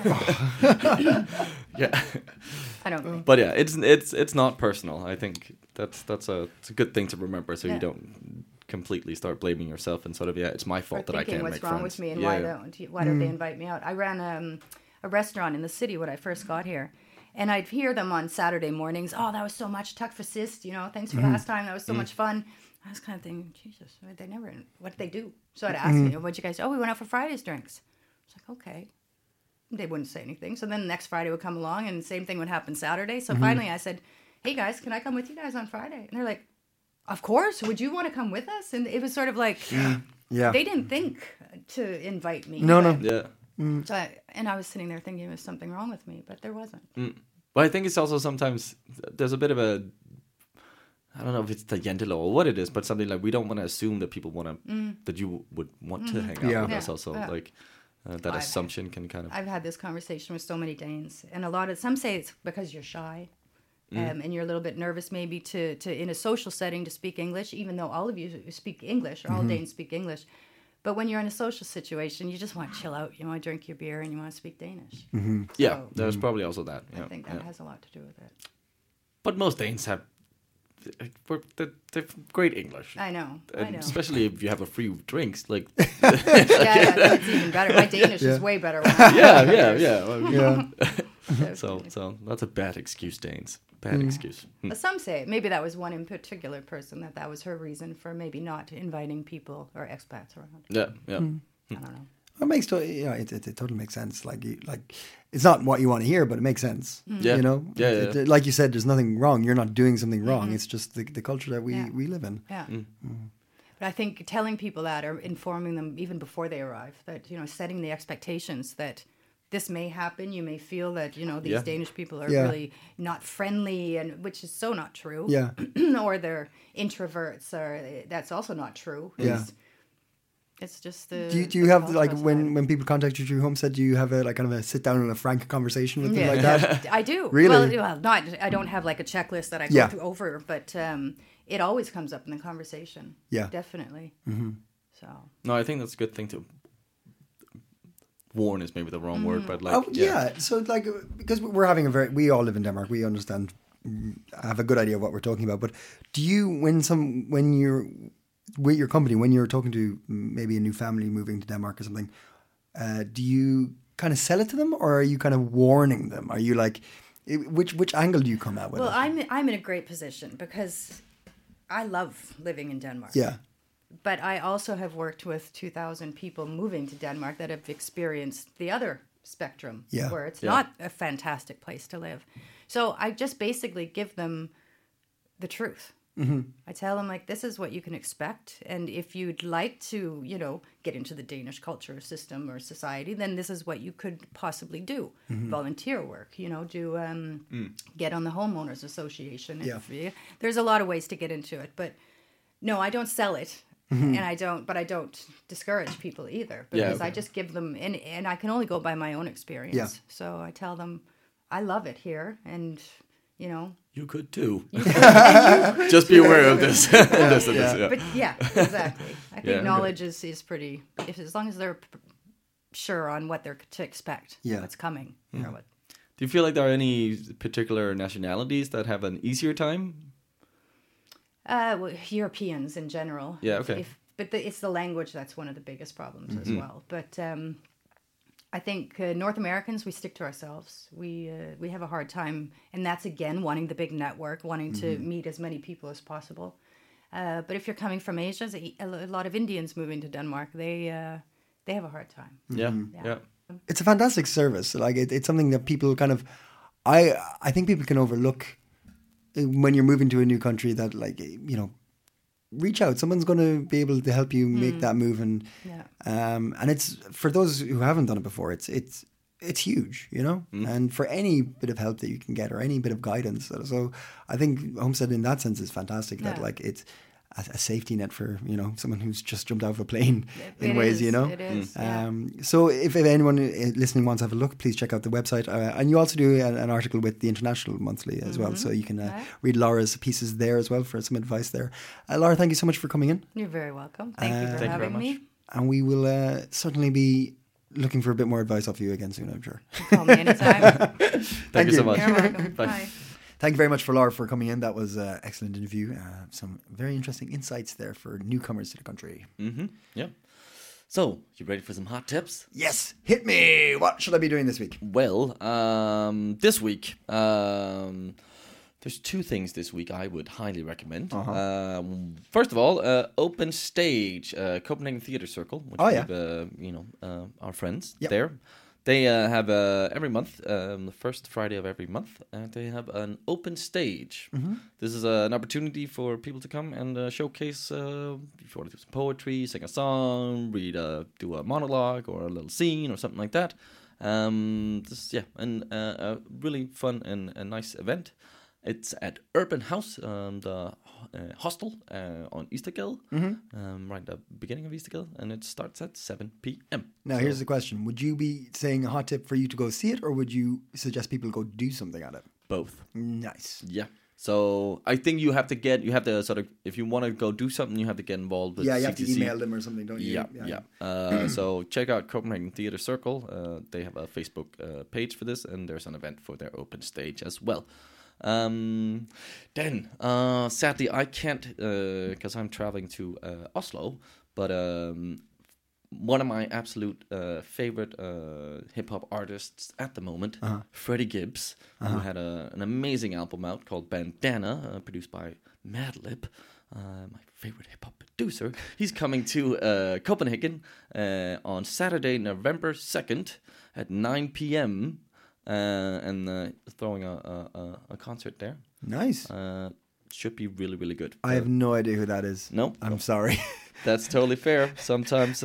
Yeah. I don't think. But yeah, it's not personal. I think it's a good thing to remember, so you don't completely start blaming yourself and sort of it's my fault that I can't make friends. What's wrong with me and why don't they invite me out? I ran a restaurant in the city when I first got here, and I'd hear them on Saturday mornings. Oh, that was so much. Tack for sist, thanks for last time. That was so much fun. I was kind of thinking, Jesus, what did they do? So I'd ask me, what'd you guys do? Oh, we went out for Friday's drinks. It's like, okay. They wouldn't say anything. So then the next Friday would come along and the same thing would happen Saturday. So finally I said, hey guys, can I come with you guys on Friday? And they're like, of course. Would you want to come with us? And it was sort of like, they didn't think to invite me. No. Yeah. So I was sitting there thinking there was something wrong with me, but there wasn't. But I think it's also sometimes there's a bit of a, I don't know if it's the Jantelov or what it is, but something like we don't want to assume that people want to, that you would want to hang out with us also. Like that assumption can kind of. I've had this conversation with so many Danes, and some say it's because you're shy. And you're a little bit nervous maybe to in a social setting to speak English, even though all of you speak English, or all Danes speak English. But when you're in a social situation, you just want to chill out. You want to drink your beer and you want to speak Danish. So, there's probably also that. I think that has a lot to do with it. But most Danes have they're great English. I know. Especially if you have a free drinks. Like that's even better. My Danish is way better. So that's a bad excuse, Danes. Bad excuse. Some say maybe that was one in particular person that was her reason for maybe not inviting people or expats around. Yeah. I don't know. It makes it totally makes sense. Like it's not what you want to hear, but it makes sense. Like you said, there's nothing wrong. You're not doing something wrong. It's just the culture that we live in. Yeah. But I think telling people that or informing them even before they arrive that setting the expectations that this may happen. You may feel that these Danish people are really not friendly, and which is so not true. Yeah. Or they're introverts, or that's also not true. It's just the. Do you have like when people contact you through Homestead, do you have a kind of a sit down and a frank conversation with them like that? I do. Really? Well, not. I don't have like a checklist that I go through over, but it always comes up in the conversation. Yeah, definitely. So. No, I think that's a good thing to. Warn is maybe the wrong word, but like So like because we're having we all live in Denmark, we understand, have a good idea of what we're talking about. But do you when you're with your company, when you're talking to maybe a new family moving to Denmark or something, do you kind of sell it to them, or are you kind of warning them? Are you like, Which angle do you come at with Well, it? I'm in a great position because I love living in Denmark. Yeah. But I also have worked with 2,000 people moving to Denmark that have experienced the other spectrum, Yeah. where it's Yeah. not a fantastic place to live. So I just basically give them the truth. Mm-hmm. I tell them, like, this is what you can expect. And if you'd like to, get into the Danish culture system or society, then this is what you could possibly do. Mm-hmm. Volunteer work, get on the homeowners association. Yeah. There's a lot of ways to get into it, but no, I don't sell it. Mm-hmm. But I don't discourage people either, because okay. I just give them, and I can only go by my own experience. Yeah. So I tell them, I love it here, and You could too. Just be aware of this. This. but yeah, exactly. I think Yeah. knowledge is pretty, as long as they're sure on what they're to expect, Yeah. what's coming. Or what. Do you feel like there are any particular nationalities that have an easier time? Well, Europeans in general. Yeah, okay. It's the language that's one of the biggest problems as well. But I think North Americans, we stick to ourselves. We have a hard time, and that's again wanting the big network, wanting to meet as many people as possible. But if you're coming from Asia, a lot of Indians moving to Denmark, they have a hard time. Yeah. It's a fantastic service. Like it's something that people kind of, I think people can overlook when you're moving to a new country. That reach out. Someone's going to be able to help you make that move, and it's for those who haven't done it before. It's huge, and for any bit of help that you can get or any bit of guidance. So I think Homestead in that sense is fantastic. That like it's a safety net for someone who's just jumped out of a plane in ways. It is. Yeah. So if anyone listening wants to have a look, please check out the website. And you also do an article with the International Monthly as well, so you can read Laura's pieces there as well for some advice there. Laura, thank you so much for coming in. You're very welcome. Thank you for having me. And we will certainly be looking for a bit more advice off you again soon, I'm sure. Call me anytime. Thank you so much. You're welcome. Bye. Bye. Thank you very much for Laura for coming in. That was an excellent interview. Some very interesting insights there for newcomers to the country. Yeah. So, you ready for some hot tips? Yes, hit me. What should I be doing this week? Well, this week, there's two things this week I would highly recommend. First of all, Open Stage, Copenhagen Theatre Circle, which our friends there. They have every month, the first Friday of every month, they have an open stage. This is an opportunity for people to come and showcase, if you want to do some poetry, sing a song, do a monologue or a little scene or something like that. A really fun and a nice event. It's at Urban House, the hostel on Eastergade, right at the beginning of Eastergade, and it starts at 7 p.m. Now, here's the question. Would you be saying a hot tip for you to go see it, or would you suggest people go do something at it? Both. Nice. Yeah. So I think you have to sort of, if you want to go do something, you have to get involved with Yeah, you CTC. have to email them or something, don't you? Yeah. So check out Copenhagen Theatre Circle. They have a Facebook page for this, and there's an event for their open stage as well. Then, sadly, I can't because I'm traveling to Oslo. But one of my absolute favorite hip hop artists at the moment, Freddie Gibbs, who had an amazing album out called Bandana, produced by Madlib, my favorite hip hop producer. He's coming to Copenhagen on Saturday, November 2nd at 9 p.m. And throwing a concert there. Nice. Should be really, really good. I have no idea who that is. No? I'm sorry. That's totally fair. Sometimes,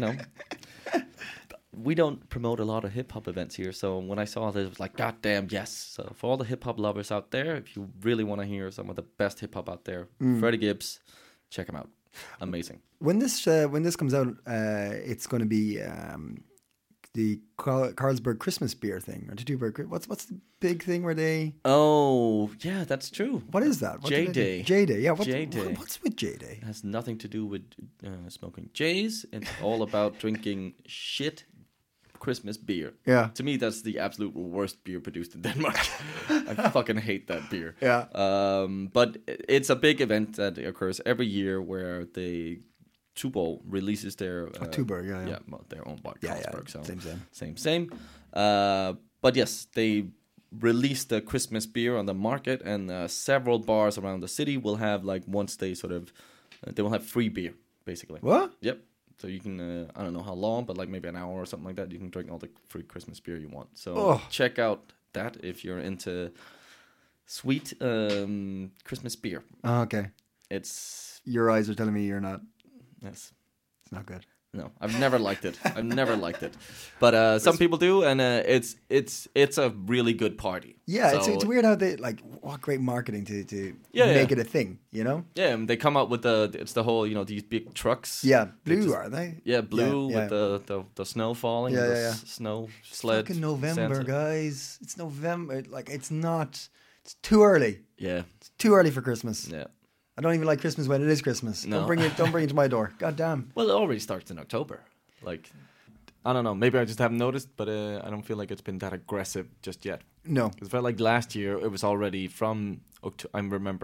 we don't promote a lot of hip-hop events here. So when I saw this, it was like, God damn, yes. So for all the hip-hop lovers out there, if you really want to hear some of the best hip-hop out there, Freddie Gibbs, check him out. Amazing. When this comes out, it's going to be... the Carlsberg Christmas beer thing, or Tuborg. What's the big thing where they? Oh, yeah, that's true. What is that? J-Day. J-Day, yeah. J-Day. What's with J-Day? It has nothing to do with smoking J's. It's all about drinking shit Christmas beer. Yeah. To me, that's the absolute worst beer produced in Denmark. I fucking hate that beer. Yeah. But it's a big event that occurs every year where they... Tuborg releases their Tuborg, well, their own bar, Carlsberg. So same. same. But yes, they released the Christmas beer on the market, and several bars around the city will have like once they sort of they will have free beer basically. What? Yep. So you can I don't know how long, but like maybe an hour or something like that. You can drink all the free Christmas beer you want. So check out that if you're into sweet Christmas beer. Oh, okay. It's Your eyes are telling me you're not. yes. It's not good. No, I've never liked it. I've never liked it, but some people do, and it's a really good party. Yeah, So, it's weird how they like what great marketing to Yeah, make yeah. it a thing, you know? yeah, and they come out with it's the whole these big trucks. Yeah, They blue just- are they? Yeah, blue Yeah, with the snow falling. Yeah, the yeah, yeah. Snow sled. Fucking November, Santa. guys. It's November. Like it's not. It's too early. Yeah, It's too early for Christmas. yeah. I don't even like Christmas when it is Christmas. No. Don't bring it to my door. God damn. Well, it already starts in October. Like, I don't know. Maybe I just haven't noticed, but I don't feel like it's been that aggressive just yet. No. It felt like last year it was already from October.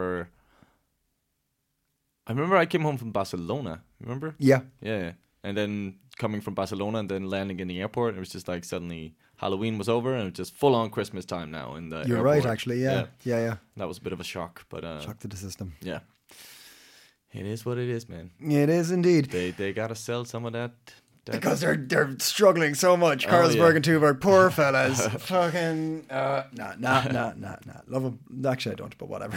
I remember I came home from Barcelona. Remember? Yeah. Yeah. And then coming from Barcelona and then landing in the airport, it was just like suddenly Halloween was over and it was just full on Christmas time now in the You're airport. right, actually. Yeah. Yeah. That was a bit of a shock, but Shock to the system. yeah. It is what it is, man. It is indeed. They gotta sell some of that. Because they're struggling so much. Carlsberg yeah. and Tuborg, poor fellas. Fucking nah. Love them. Actually, I don't, but whatever.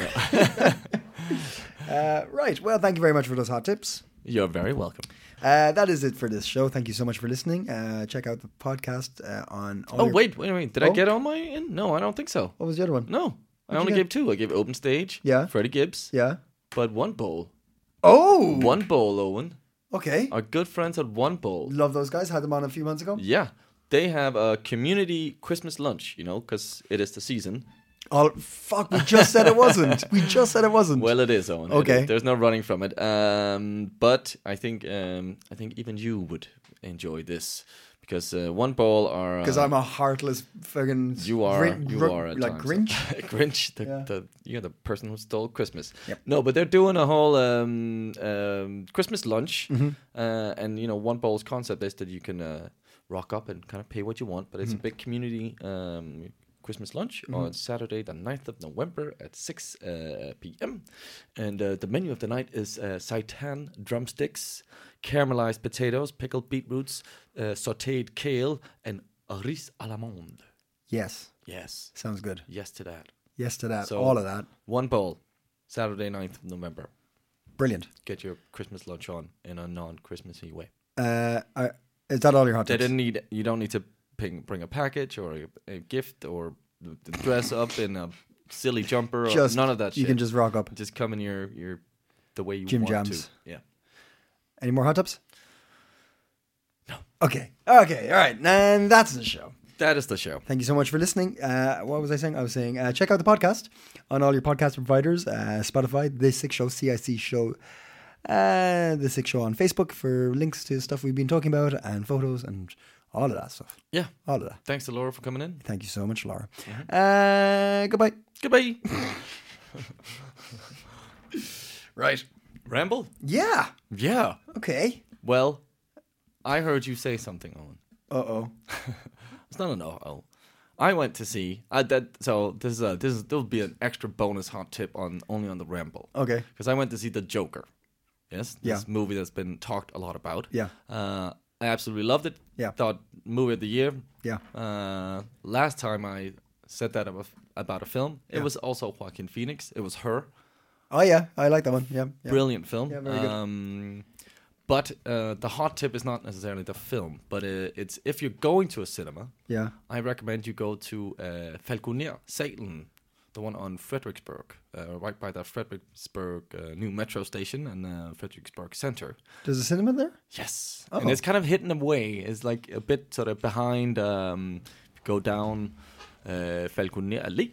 Right. Well, thank you very much for those hot tips. You're very welcome. That is it for this show. Thank you so much for listening. Check out the podcast on. All your- Wait. Did I Oh. get all my in? No, I don't think so. What was the other one? No, I you only get? gave 2. I gave Open Stage. Yeah. Freddie Gibbs. Yeah. But One Bowl. Oh. One Bowl, Owen. Okay. Our good friends at One Bowl. Love those guys. Had them on a few months ago. Yeah. They have a community Christmas lunch, because it is the season. Oh fuck! We just said it wasn't. Well, it is, Owen. Okay. It is. There's no running from it. But I think even you would enjoy this because One Bowl are Because I'm a heartless fucking. you are at like times. Grinch. Grinch, Yeah. you're the person who stole Christmas. Yep. No, but they're doing a whole Christmas lunch, Mm-hmm. and One Bowl's concept is that you can rock up and kind of pay what you want, but it's Mm-hmm. a big community Christmas lunch on Saturday, the 9th of November at 6 p.m. And the menu of the night is seitan drumsticks, caramelized potatoes, pickled beetroots, sautéed kale, and riz à l'amande. Yes. Yes. Sounds good. Yes to that. Yes to that. So- All of that. One Bowl, Saturday 9th of November. Brilliant. Get your Christmas lunch on in a non-Christmassy way. Is that all your hot They tips? you don't need to bring a package or a gift or dress up in a silly jumper or Just none of that shit. You can just rock up. Just come in your the way you Gym want jams. to. Yeah. Any more hot tips? No. Okay. All right. And that's the show. That is the show. Thank you so much for listening. What was I saying? I was saying check out the podcast on all your podcast providers. Spotify, The Sick Show, CIC Show, The Sick Show on Facebook for links to stuff we've been talking about and photos and all of that stuff. Yeah. All of that. Thanks to Laura for coming in. Thank you so much, Laura. Mm-hmm. Goodbye. Goodbye. Right. Ramble? Yeah. Yeah. Okay. Well, I heard you say something, Owen. Uh-oh. It's not an uh-oh. I went to see there'll be an extra bonus hot tip only on the Ramble. Okay. Because I went to see The Joker. Yes, this Yeah. movie that's been talked a lot about. Yeah. I absolutely loved it. Yeah. Thought movie of the year. Yeah. Last time I said that about a film, it was also Joaquin Phoenix. It was Her. Oh, yeah. I like that one. Yeah. Brilliant film. Yeah, very good. But the hot tip is not necessarily the film, but it's if you're going to a cinema, Yeah. I recommend you go to Falconer Salen, the one on Frederiksberg, right by the Frederiksberg new metro station and Frederiksberg Center. There's a cinema there? Yes, Oh. and it's kind of hidden away. It's like a bit sort of behind. Go down Falconer Allé.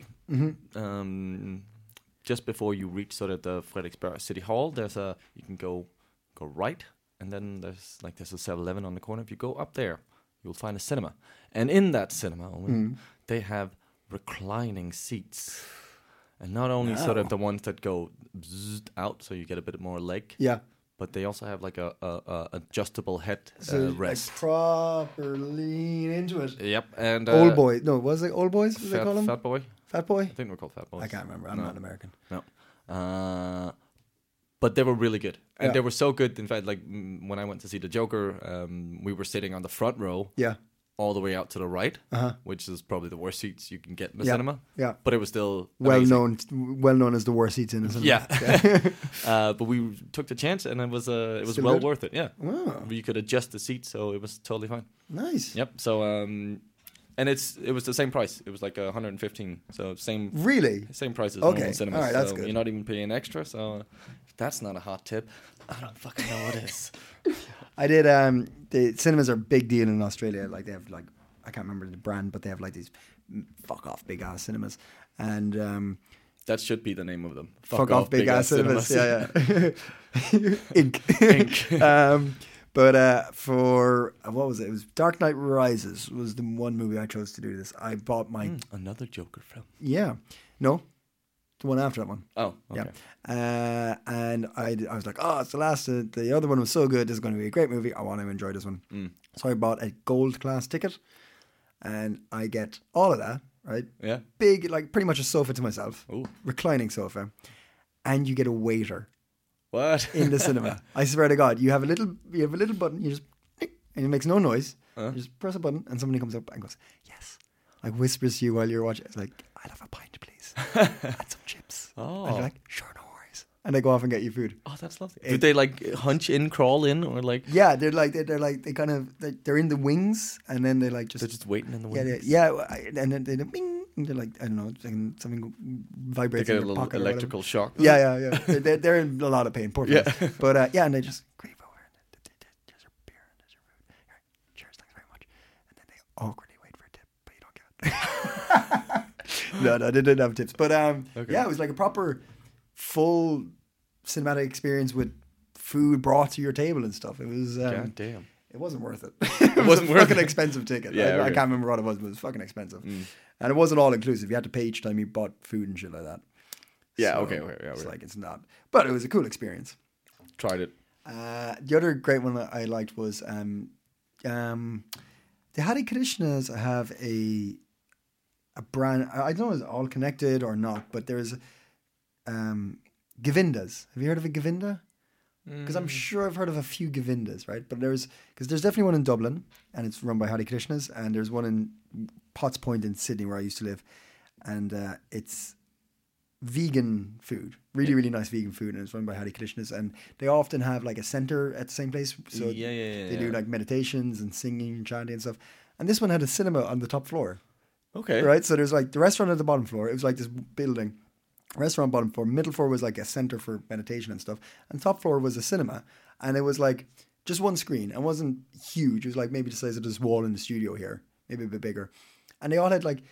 Just before you reach sort of the Frederiksberg City Hall, you can go right, and then there's a 7-Eleven on the corner. If you go up there, you'll find a cinema, and in that cinema, they have reclining seats, and not only sort of the ones that go bzzzt out, so you get a bit more leg, Yeah. but they also have like a adjustable head So rest. like proper lean into it. Yep, and Old boy. No, was it old boys? What they call them? Fat boy. Fat boy. I think we're called fat boys. I can't remember. I'm not American. No. But they were really good. And Yeah. they were so good. In fact, like when I went to see the Joker, we were sitting on the front row Yeah. all the way out to the right, Uh-huh. which is probably the worst seats you can get in the Yeah. cinema. Yeah. But it was still Well amazing. known as the worst seats in the cinema. Yeah. But we took the chance and it was Still well good? worth it. Yeah. Wow. You could adjust the seat, so it was totally fine. Nice. Yep. So, and it was the same price. It was like 115. So same price as Okay. normal cinemas. All right, that's so good. You're not even paying extra. So if that's not a hot tip, I don't fucking know what is. I did. The cinemas are a big deal in Australia. Like they have like I can't remember the brand, but they have like these fuck off big ass cinemas, and That should be the name of them. fuck off big ass cinemas. Yeah. Inc. But for what was it? It was Dark Knight Rises was the one movie I chose to do this. I bought my Another Joker film. the one after that one. Oh, okay. Yeah. And I was like, oh, it's the last. The other one was so good. This is going to be a great movie. I want to enjoy this one. So I bought a gold class ticket, and I get all of that. Right. Yeah. Big, like pretty much a sofa to myself. Ooh. Reclining sofa, and you get a waiter What? in the cinema. I swear to God, you have a little button. You just and it makes no noise. You just press a button, and somebody comes up and goes, "Yes," like whispers to you while you're watching. It's like, "I'll have a pint, please, and some chips." Oh. And you're like, "Sure, no worries." And they go off and get you food. Oh, that's lovely. Do they like hunch in, crawl in, or like Yeah, they're in the wings, and then they like they're just waiting in the yeah, wings? and then they bing, and they're like I don't know, something They vibrates get in a your little pocket. electrical shock. Yeah. They're in a lot of pain, poor Yeah. fellas. But and they just creep over and there's your beer and there's your food. Here, cheers, thanks very much. And then they awkwardly wait for a tip, but you don't get it. No, they didn't have tips. But yeah, it was like a proper full cinematic experience with food brought to your table and stuff. It was God damn. it wasn't worth it. It wasn't a worth fucking it. expensive ticket. Yeah, I okay. can't remember what it was, but it was fucking expensive. And it wasn't all inclusive. You had to pay each time you bought food and shit like that. Yeah, So okay, yeah, it's okay. like it's not, but it was a cool experience. Tried it. The other great one that I liked was the Hare Krishnas have a brand. I don't know if it's all connected or not, but there's Govindas. Have you heard of a Govinda? Because I'm sure I've heard of a few Govindas, right? But there's definitely one in Dublin, and it's run by Hare Krishnas, and there's one in Potts Point in Sydney where I used to live, and it's vegan food, really nice vegan food, and it's run by Hare Krishnas, and they often have like a center at the same place, so they do like meditations and singing and chanting and stuff. And this one had a cinema on the top floor, Okay. right? So there's like the restaurant at the bottom floor. It was like this building, restaurant bottom floor, middle floor was like a center for meditation and stuff, and top floor was a cinema, and it was like just one screen. It wasn't huge. It was like maybe the size of this wall in the studio here, maybe a bit bigger, and they all had like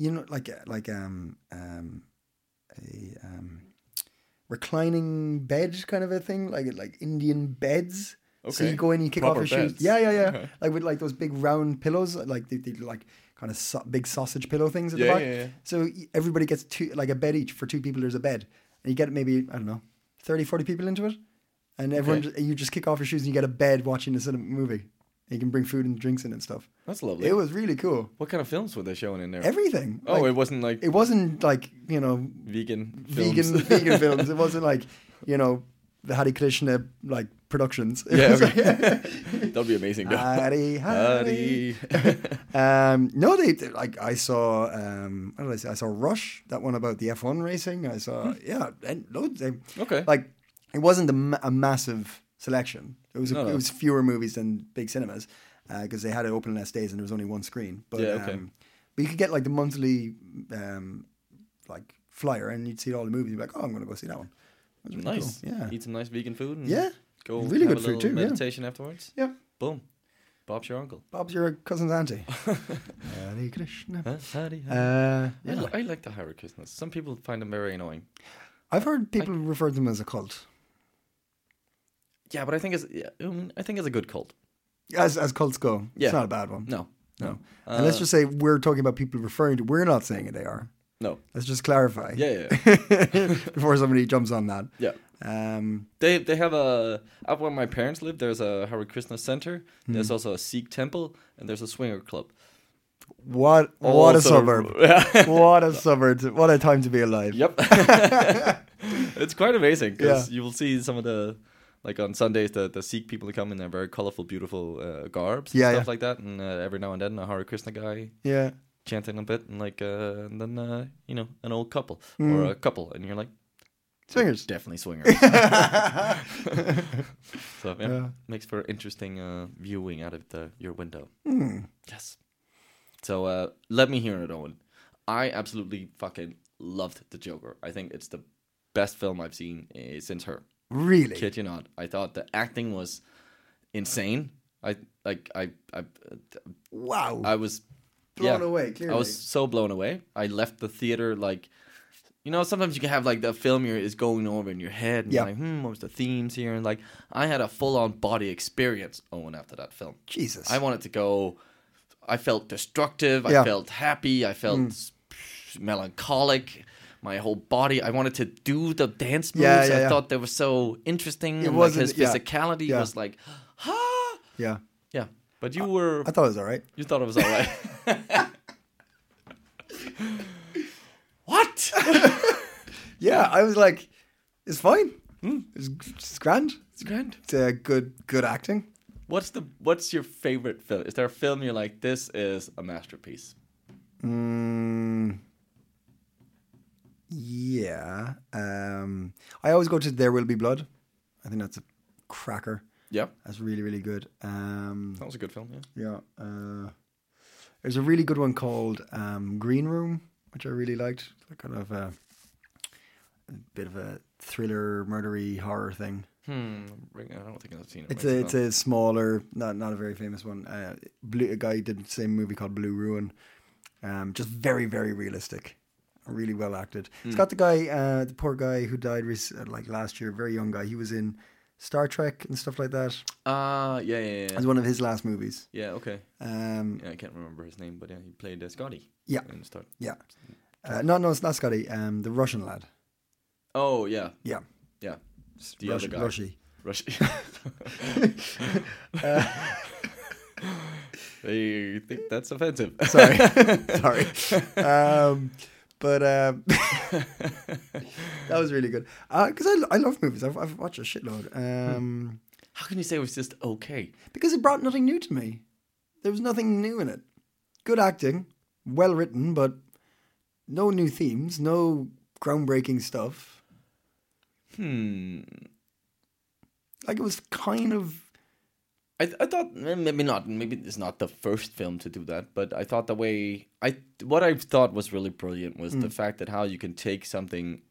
reclining bed kind of a thing, like Indian beds. So Okay. you go in, you kick Proper off your shoes. beds. Yeah. Okay. Like with like those big round pillows, like they like kind of big sausage pillow things at the Yeah, back. yeah. So everybody gets like a bed each for two people. There's a bed, and you get maybe I don't know 30, 40 people into it, and everyone you just kick off your shoes and you get a bed watching the cinema movie. And you can bring food and drinks in and stuff. That's lovely. It was really cool. What kind of films were they showing in there? Everything. Oh, Like, it wasn't like it wasn't like vegan films. vegan films. It wasn't like the Hare Krishna like productions. It Yeah, was okay. That'd be amazing. though. Hare. No, they like I saw. What did I say? I saw Rush, that one about the F1 racing. I saw and loads. Okay. Like it wasn't a massive selection. It was No. it was fewer movies than big cinemas because they had it open less days and there was only one screen. But Yeah, okay. but you could get like the monthly like flyer and you'd see all the movies. You'd be like, oh, I'm going to go see that one. That was really Nice. cool. Yeah. Eat some nice vegan food. And Yeah. Go Really have good a food little too, yeah. meditation afterwards. Yeah. Boom. Bob's your uncle. Bob's your cousin's auntie. Hare Krishna. Huh? I Yeah. I like the Hare Krishnas. Some people find them very annoying. I've heard people refer to them as a cult. Yeah, but I think it's a good cult. As cults go. Yeah. It's not a bad one. No. No. And let's just say we're talking about people referring to, we're not saying it they are. No. Let's just clarify. Yeah. Before somebody jumps on that. Yeah. They have up where my parents live. There's a Hare Krishna center. There's also a Sikh temple, and there's a swinger club. What a suburb! What a suburb! What a time to be alive! Yep. It's quite amazing because you will see some of the, like on Sundays, the Sikh people come in their very colorful, beautiful garbs and stuff like that, and every now and then a Hare Krishna guy chanting a bit, and like and then an old couple or a couple, and you're like, swingers, definitely swingers. So makes for interesting viewing out of your window. Yes. So let me hear it, Owen. I absolutely fucking loved The Joker. I think it's the best film I've seen since Her. Really? Kid you not. I thought the acting was insane. Wow. I was blown away, clearly. I was so blown away. I left the theater like, sometimes you can have like the film is going over in your head and you're like, what was the themes here? And like, I had a full-on body experience, Owen, after that film. Jesus. I wanted to go... I felt destructive. I felt happy. I felt melancholic. My whole body. I wanted to do the dance moves. I thought they were so interesting. And like his physicality was like, Yeah. Yeah. But you were... I thought it was all right. You thought it was all right. What? Yeah, I was like, it's fine. It's grand. It's grand. It's good acting. What's your favorite film? Is there a film you're like, this is a masterpiece? Yeah. I always go to There Will Be Blood. I think that's a cracker. Yeah. That's really, really good. That was a good film, yeah. Yeah. There's a really good one called Green Room, which I really liked. Kind of a bit of a thriller, murdery horror thing. I don't think I've seen it. It's a smaller, not a very famous one. A guy did the same movie called Blue Ruin. Just very, very realistic. Really well acted. It's got the guy, the poor guy who died last year, very young guy. He was in Star Trek and stuff like that. Yeah. It's one of his last movies. Yeah, okay. I can't remember his name, but he played Scotty. Yeah. In Star. Yeah. No, it's not Scotty. The Russian lad. Oh, yeah. Yeah. Yeah. The other guy. Rushy. They think that's offensive. Sorry. But that was really good. Because I love movies. I've watched a shitload. How can you say it was just okay? Because it brought nothing new to me. There was nothing new in it. Good acting, well written, but no new themes, no groundbreaking stuff. Like it was kind of... I thought maybe it's not the first film to do that, but I thought what I thought was really brilliant was the fact that how you can take something,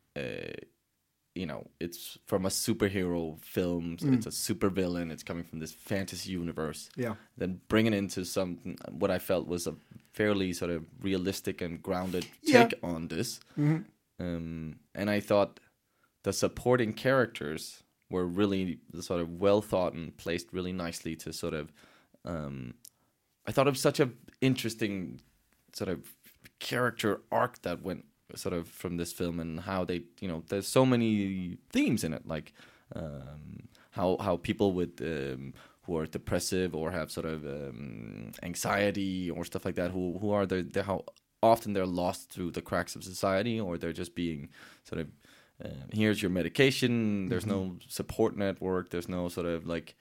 it's from a superhero film, it's a supervillain, it's coming from this fantasy universe, then bring it into what I felt was a fairly sort of realistic and grounded take on this, and I thought the supporting characters were really sort of well thought and placed really nicely to sort of, I thought it was such an interesting sort of character arc that went sort of from this film and how they, there's so many themes in it, like how people with who are depressive or have sort of anxiety or stuff like that, who are how often they're lost through the cracks of society, or they're just being sort of here's your medication. There's no support network. There's no sort of like,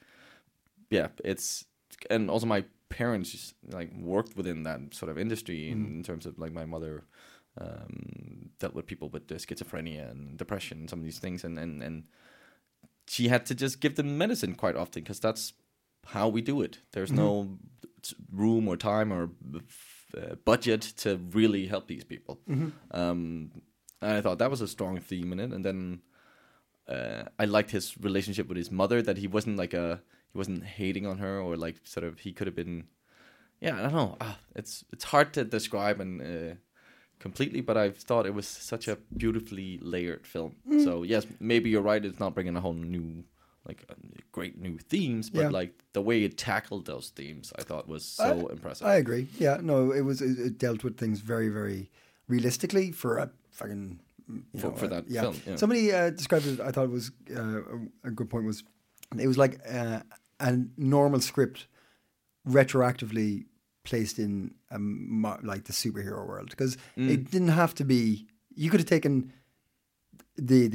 and also my parents like worked within that sort of industry in terms of like my mother dealt with people with schizophrenia and depression and some of these things, and she had to just give them medicine quite often because that's how we do it. There's no room or time or budget to really help these people. And I thought that was a strong theme in it. And then I liked his relationship with his mother, that he wasn't he wasn't hating on her, or like sort of, he could have been, I don't know. It's hard to describe and completely, but I thought it was such a beautifully layered film. So yes, maybe you're right. It's not bringing a whole new, like great new themes, but like the way it tackled those themes, I thought was so impressive. I agree. Yeah, no, it dealt with things very, very realistically for a fucking for that film. Yeah. Somebody described it. I thought it was a good point. Was it was like a normal script retroactively placed in like the superhero world, because it didn't have to be. You could have taken the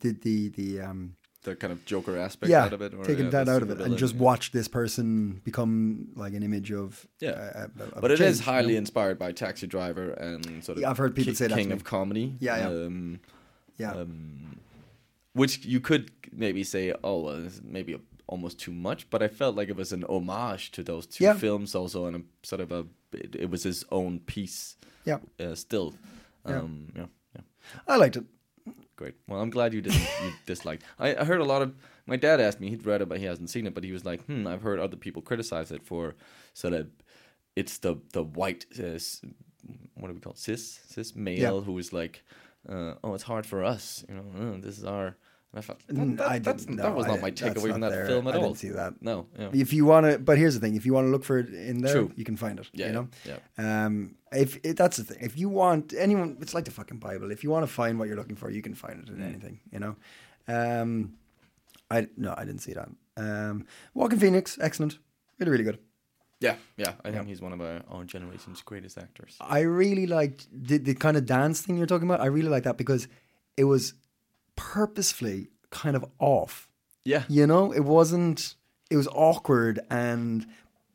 kind of Joker aspect out of it, or taken that out of it, and just watch this person become like an image of. But it is highly inspired by Taxi Driver and sort of. I've heard people say that King of Comedy. Which you could maybe say, it's maybe almost too much, but I felt like it was an homage to those two films also, and a sort of it was his own piece. Yeah. Still. I liked it. Great. Well, I'm glad you disliked. I heard a lot of. My dad asked me. He'd read it, but he hasn't seen it. But he was like, I've heard other people criticize it for sort of. It's the white. What do we call it? Cis male who is like, it's hard for us. This is our. And I felt that was not my takeaway from that film at all. I didn't see that. No. Yeah. If you want to, but here's the thing: if you want to look for it in there, you can find it. Yeah. If that's the thing. If you want anyone, it's like the fucking Bible. If you want to find what you're looking for, you can find it in anything. I didn't see that. Joaquin Phoenix, excellent, really, really good. Yeah. I think he's one of our generation's greatest actors. I really liked the kind of dance thing you're talking about. I really like that because it was purposefully kind of off. Yeah. It wasn't. It was awkward, and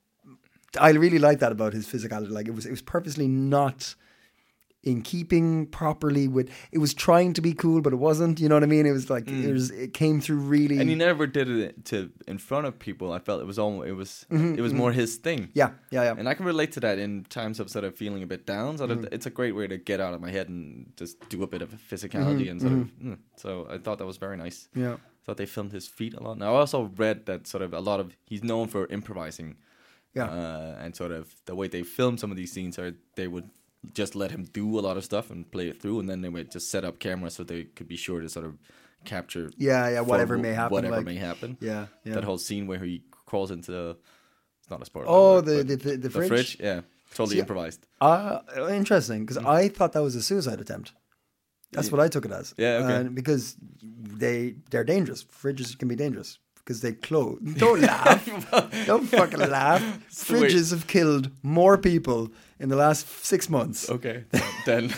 I really like that about his physicality. Like it was purposely not in keeping properly with. It was trying to be cool, but it wasn't. You know what I mean? It was like it came through really. And he never did it in front of people. I felt it was almost it was more his thing. Yeah. And I can relate to that in times of sort of feeling a bit down. So it's a great way to get out of my head and just do a bit of physicality and sort of. So I thought that was very nice. Yeah. I thought they filmed his feet a lot. Now I also read that sort of a lot of he's known for improvising. Yeah. And sort of the way they filmed some of these scenes are they would just let him do a lot of stuff and play it through, and then they would just set up cameras so they could be sure to sort of capture whatever may happen. Yeah. That whole scene where he crawls into it's not a spoiler. Oh, the fridge? Yeah. Totally improvised. Interesting, because I thought that was a suicide attempt. That's what I took it as. Yeah, okay. Because they're dangerous. Fridges can be dangerous. Because they close. Don't laugh. Don't fucking laugh. Fridges have killed more people in the last 6 months. Okay. Then.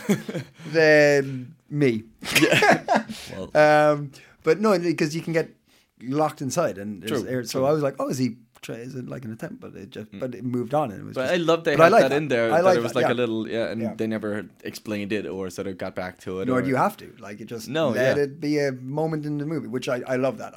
Than me. Yeah. Well. But no, because you can get locked inside, and there's air. So I was like, is it like an attempt? But it moved on, and it was. But I love they had that in there. That it was like a little, and they never explained it or sort of got back to it. Nor do you have to. Like it just let it be a moment in the movie, which I love that.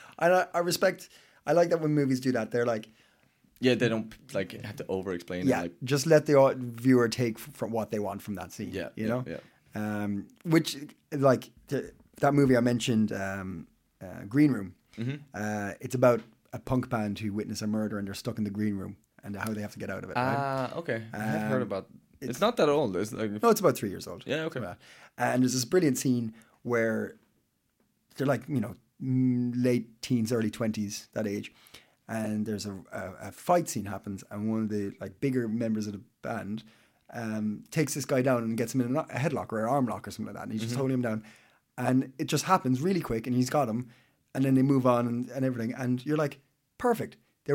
I respect. I like that when movies do that. They're like. Yeah, they don't like have to over-explain it. Yeah, just let the viewer take from what they want from that scene. Yeah, you know. Yeah. Which like that movie I mentioned, Green Room. Mm-hmm. It's about a punk band who witness a murder and they're stuck in the green room and how they have to get out of it. Okay. I've heard about. It's not that old. It's like no, it's about 3 years old. Yeah, okay. And there's this brilliant scene where they're like late teens, early 20s, that age. And there's a fight scene happens, and one of the like bigger members of the band takes this guy down and gets him in a headlock or an arm lock or something like that, and he's just holding him down, and it just happens really quick, and he's got him, and then they move on and everything, and you're like, perfect.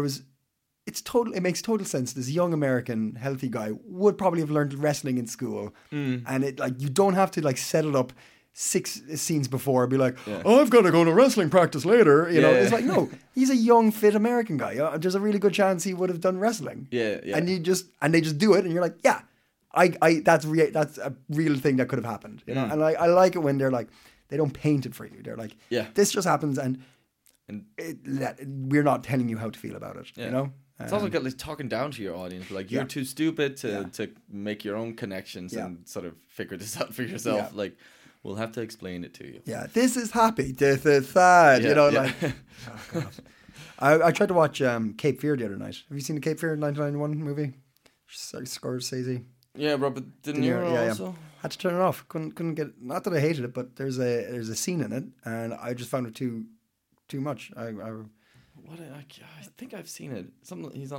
It makes total sense. This young American healthy guy would probably have learned wrestling in school, and it like you don't have to like set it up 6 scenes before, be like, I've got to go to wrestling practice later. You know, it's like, no, he's a young, fit American guy. There's a really good chance he would have done wrestling. Yeah. And they just do it, and you're like, yeah, that's a real thing that could have happened. You know, and I like it when they're like, they don't paint it for you. They're like, this just happens, and we're not telling you how to feel about it. You know. It's also like talking down to your audience, like you're too stupid to make your own connections and sort of figure this out for yourself. Yeah. Like. We'll have to explain it to you. Yeah, this is happy, this is sad. Yeah, like. Oh God. I tried to watch Cape Fear the other night. Have you seen the Cape Fear 1991 movie? Scorsese. Yeah, Robert De Niro also. Yeah. Had to turn it off. Couldn't get. Not that I hated it, but there's a scene in it, and I just found it too much. I think I've seen it. He's on a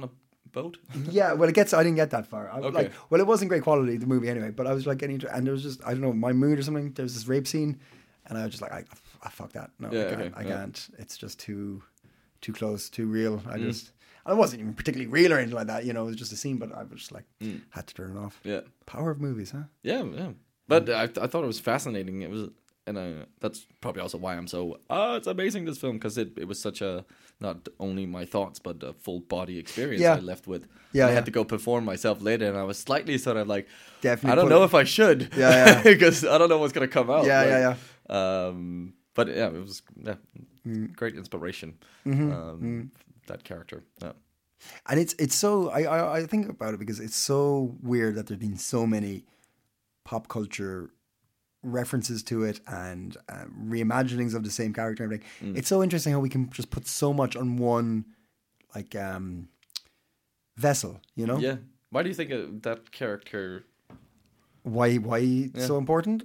boat. Yeah, well, I didn't get that far. Okay. It wasn't great quality, the movie anyway, but I was like getting into, and there was just, I don't know, my mood or something. There was this rape scene, and I was just like, I fuck that. No, Yeah, I can't. It's just too close, too real. I wasn't even particularly real or anything like that, you know, it was just a scene, but I was just like, had to turn it off. Yeah. Power of movies, huh? Yeah. But I thought it was fascinating. It was, and that's probably also why I'm so, it's amazing, this film, because it was such a, not only my thoughts, but a full body experience I left with. Yeah, I had to go perform myself later, and I was slightly sort of like, Definitely I don't know if I should. Yeah. Because I don't know what's going to come out. Yeah. But yeah, it was great inspiration. That character. Yeah. And it's so, I think about it because it's so weird that there's been so many pop culture references to it and reimaginings of the same character and everything. It's so interesting how we can just put so much on one like vessel, you know? Yeah. Why do you think that character? Why so important?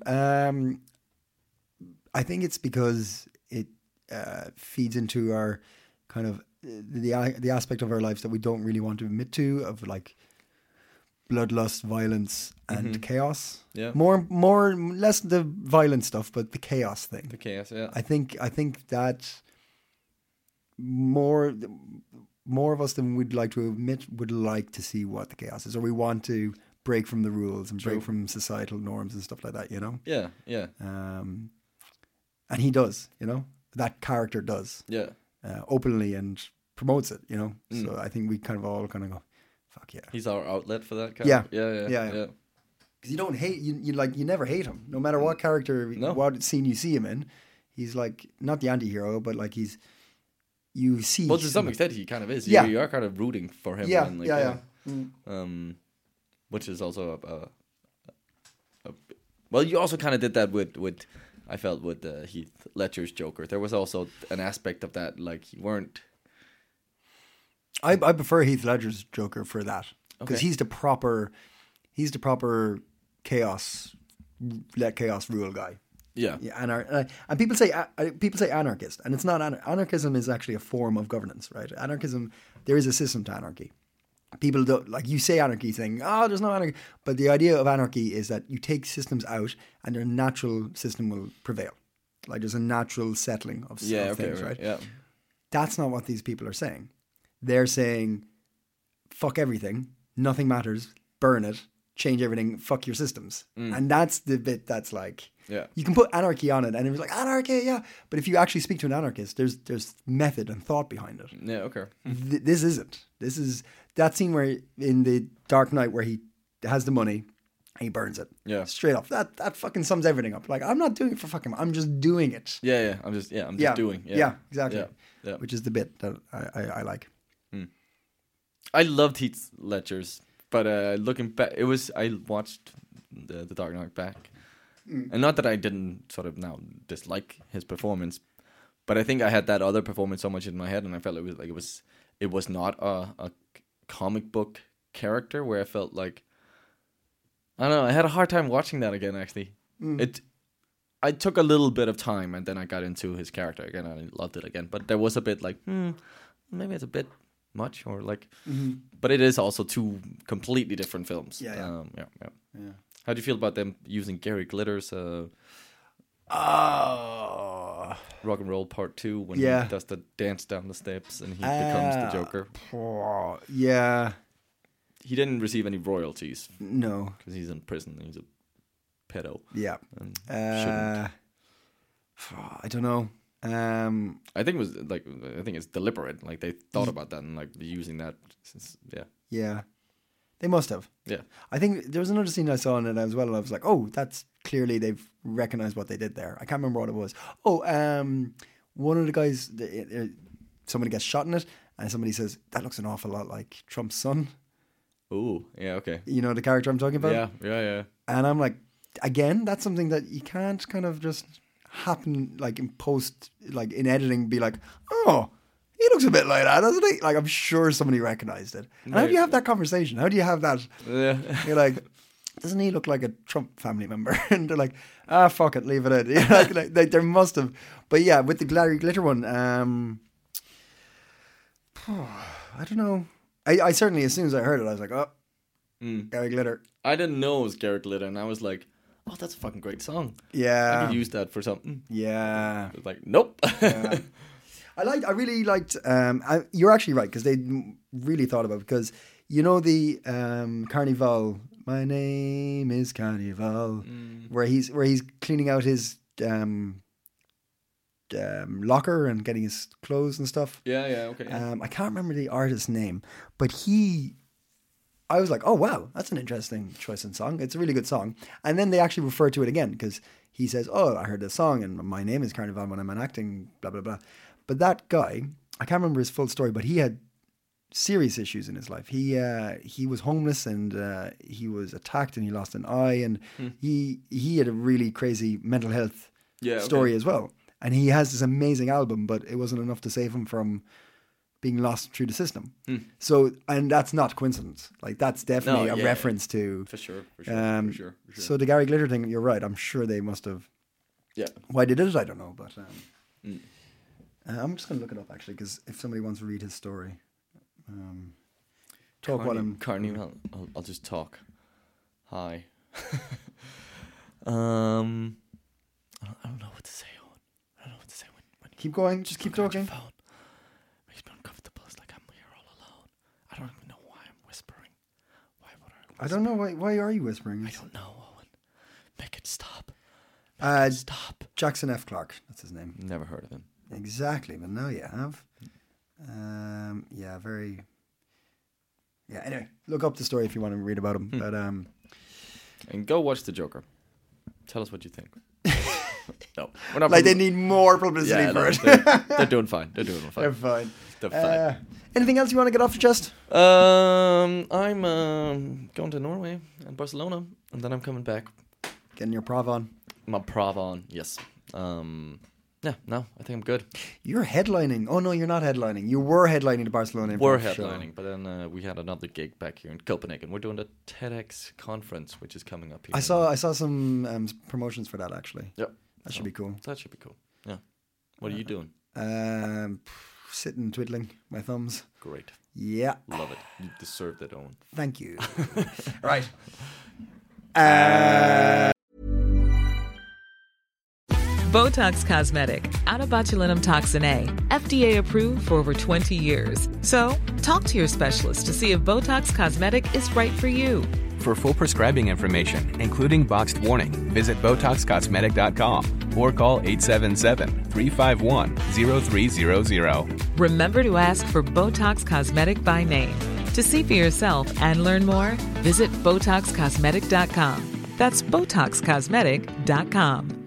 I think it's because it feeds into our kind of the aspect of our lives that we don't really want to admit to, of like bloodlust, violence, and chaos. Yeah. Less the violent stuff, but the chaos thing. The chaos, yeah. I think that more of us than we'd like to admit would like to see what the chaos is, or we want to break from the rules and break from societal norms and stuff like that, you know? Yeah, yeah. And he does, you know? That character does. Yeah. Openly and promotes it, you know? So I think we kind of all kind of go, fuck yeah. He's our outlet for that character. Yeah. Because you don't hate, you never hate him. No matter what character, what scene you see him in, he's like, not the anti-hero, but like you see. Well, to some extent, he kind of is. Yeah. You are kind of rooting for him. Yeah, and like, which is also well, you also kind of did that with I felt with Heath Ledger's Joker. There was also an aspect of that, like you weren't. I prefer Heath Ledger's Joker for that because he's the proper chaos, let chaos rule guy. Yeah. And people say anarchist, and it's not. Anarchism is actually a form of governance, right? Anarchism, there is a system to anarchy. People don't, like, you say anarchy saying, there's no anarchy. But the idea of anarchy is that you take systems out and their natural system will prevail. Like there's a natural settling of things, right? Yeah. That's not what these people are saying. They're saying, fuck everything, nothing matters, burn it, change everything, fuck your systems. And that's the bit that's like, you can put anarchy on it and it was like, anarchy, yeah. But if you actually speak to an anarchist, there's method and thought behind it. Yeah, okay. This isn't. This is that scene where in the Dark Knight where he has the money and he burns it. Yeah. Straight off. That fucking sums everything up. Like, I'm not doing it for fucking, I'm just doing it. Yeah. I'm just doing. Yeah, exactly. Yeah. Which is the bit that I like. I loved Heath Ledger's, but looking back, I watched the Dark Knight back, and not that I didn't sort of now dislike his performance, but I think I had that other performance so much in my head, and I felt it was not a comic book character where I felt like, I don't know, I had a hard time watching that again. Actually, I took a little bit of time, and then I got into his character again, and I loved it again. But there was a bit like, maybe it's a bit much, or like, but it is also two completely different films. Yeah. How do you feel about them using Gary Glitter's Rock and Roll Part 2 when he does the dance down the steps and he becomes the Joker? Yeah. He didn't receive any royalties. No, because he's in prison and he's a pedo. Yeah. I don't know. I think it was like, I think it's deliberate. Like they thought about that and like using that. Yeah, they must have. Yeah, I think there was another scene I saw in it as well, and I was like, oh, that's clearly they've recognized what they did there. I can't remember what it was. One of the guys, somebody gets shot in it, and somebody says that looks an awful lot like Trump's son. Oh, yeah, okay. You know the character I'm talking about? Yeah. And I'm like, again, that's something that you can't kind of just happen, like in post, like in editing, be like, oh, he looks a bit like that, doesn't he? Like, I'm sure somebody recognized it. And how do you have that conversation? How do you have that? Yeah. You're like, doesn't he look like a Trump family member? And they're like, fuck it, leave it in. You know, like there must have. But yeah, with the Gary Glitter one, I don't know. I certainly, as soon as I heard it, I was like, oh, Gary Glitter. I didn't know it was Garrett Glitter, and I was like, oh, that's a fucking great song. I Yeah. could use that for something. Yeah. It was like, nope. Yeah. I really liked. You're actually right because they really thought about it, because you know the Carnival. My name is Carnival, where he's cleaning out his locker and getting his clothes and stuff. Yeah, okay. I can't remember the artist's name, but I was like, oh wow, that's an interesting choice in song. It's a really good song. And then they actually refer to it again because he says, oh, I heard this song and my name is Carnival when I'm acting, blah, blah, blah. But that guy, I can't remember his full story, but he had serious issues in his life. He was homeless and he was attacked and he lost an eye, and he had a really crazy mental health story as well. And he has this amazing album, but it wasn't enough to save him from being lost through the system. So, and that's not coincidence. Like, that's definitely a reference to... For sure. So the Gary Glitter thing, you're right. I'm sure they must have... Yeah. Why they did it, I don't know, but... I'm just going to look it up, actually, because if somebody wants to read his story... talk while I'm... Carnival. I'll just talk. Hi. I don't know what to say, Owen. I don't know what to say when Keep going. Just keep talking. Phone. Makes me uncomfortable. It's like I'm here all alone. I don't even know why I'm whispering. Why would I whisper? I don't know. Why are you whispering? I don't know, Owen. Make it stop. Stop. Jackson F. Clark. That's his name. Never heard of him. Exactly. But now you have. Yeah, very... Yeah, anyway. Look up the story if you want to read about him. But And go watch The Joker. Tell us what you think. No, we're not. Like they need more publicity for it. They're doing fine. They're doing fine. They're fine. Anything else you want to get off your chest? I'm going to Norway and Barcelona, and then I'm coming back. Getting your prov on. My prov on, yes. Yeah, no, I think I'm good. You're headlining. Oh no, you're not headlining. You were headlining the Barcelona Improv We're show. headlining, but then we had another gig back here in Copenhagen. We're doing the TEDx conference, which is coming up here. I saw some promotions for that actually. Yep. That should be cool. That should be cool. Yeah. What are you doing? Sitting twiddling my thumbs. Great. Yeah. Love it. You deserve that, Owen. Thank you. Right. Botox Cosmetic, out of botulinum toxin A, FDA approved for over 20 years. So, talk to your specialist to see if Botox Cosmetic is right for you. For full prescribing information, including boxed warning, visit BotoxCosmetic.com or call 877-351-0300. Remember to ask for Botox Cosmetic by name. To see for yourself and learn more, visit BotoxCosmetic.com. That's BotoxCosmetic.com.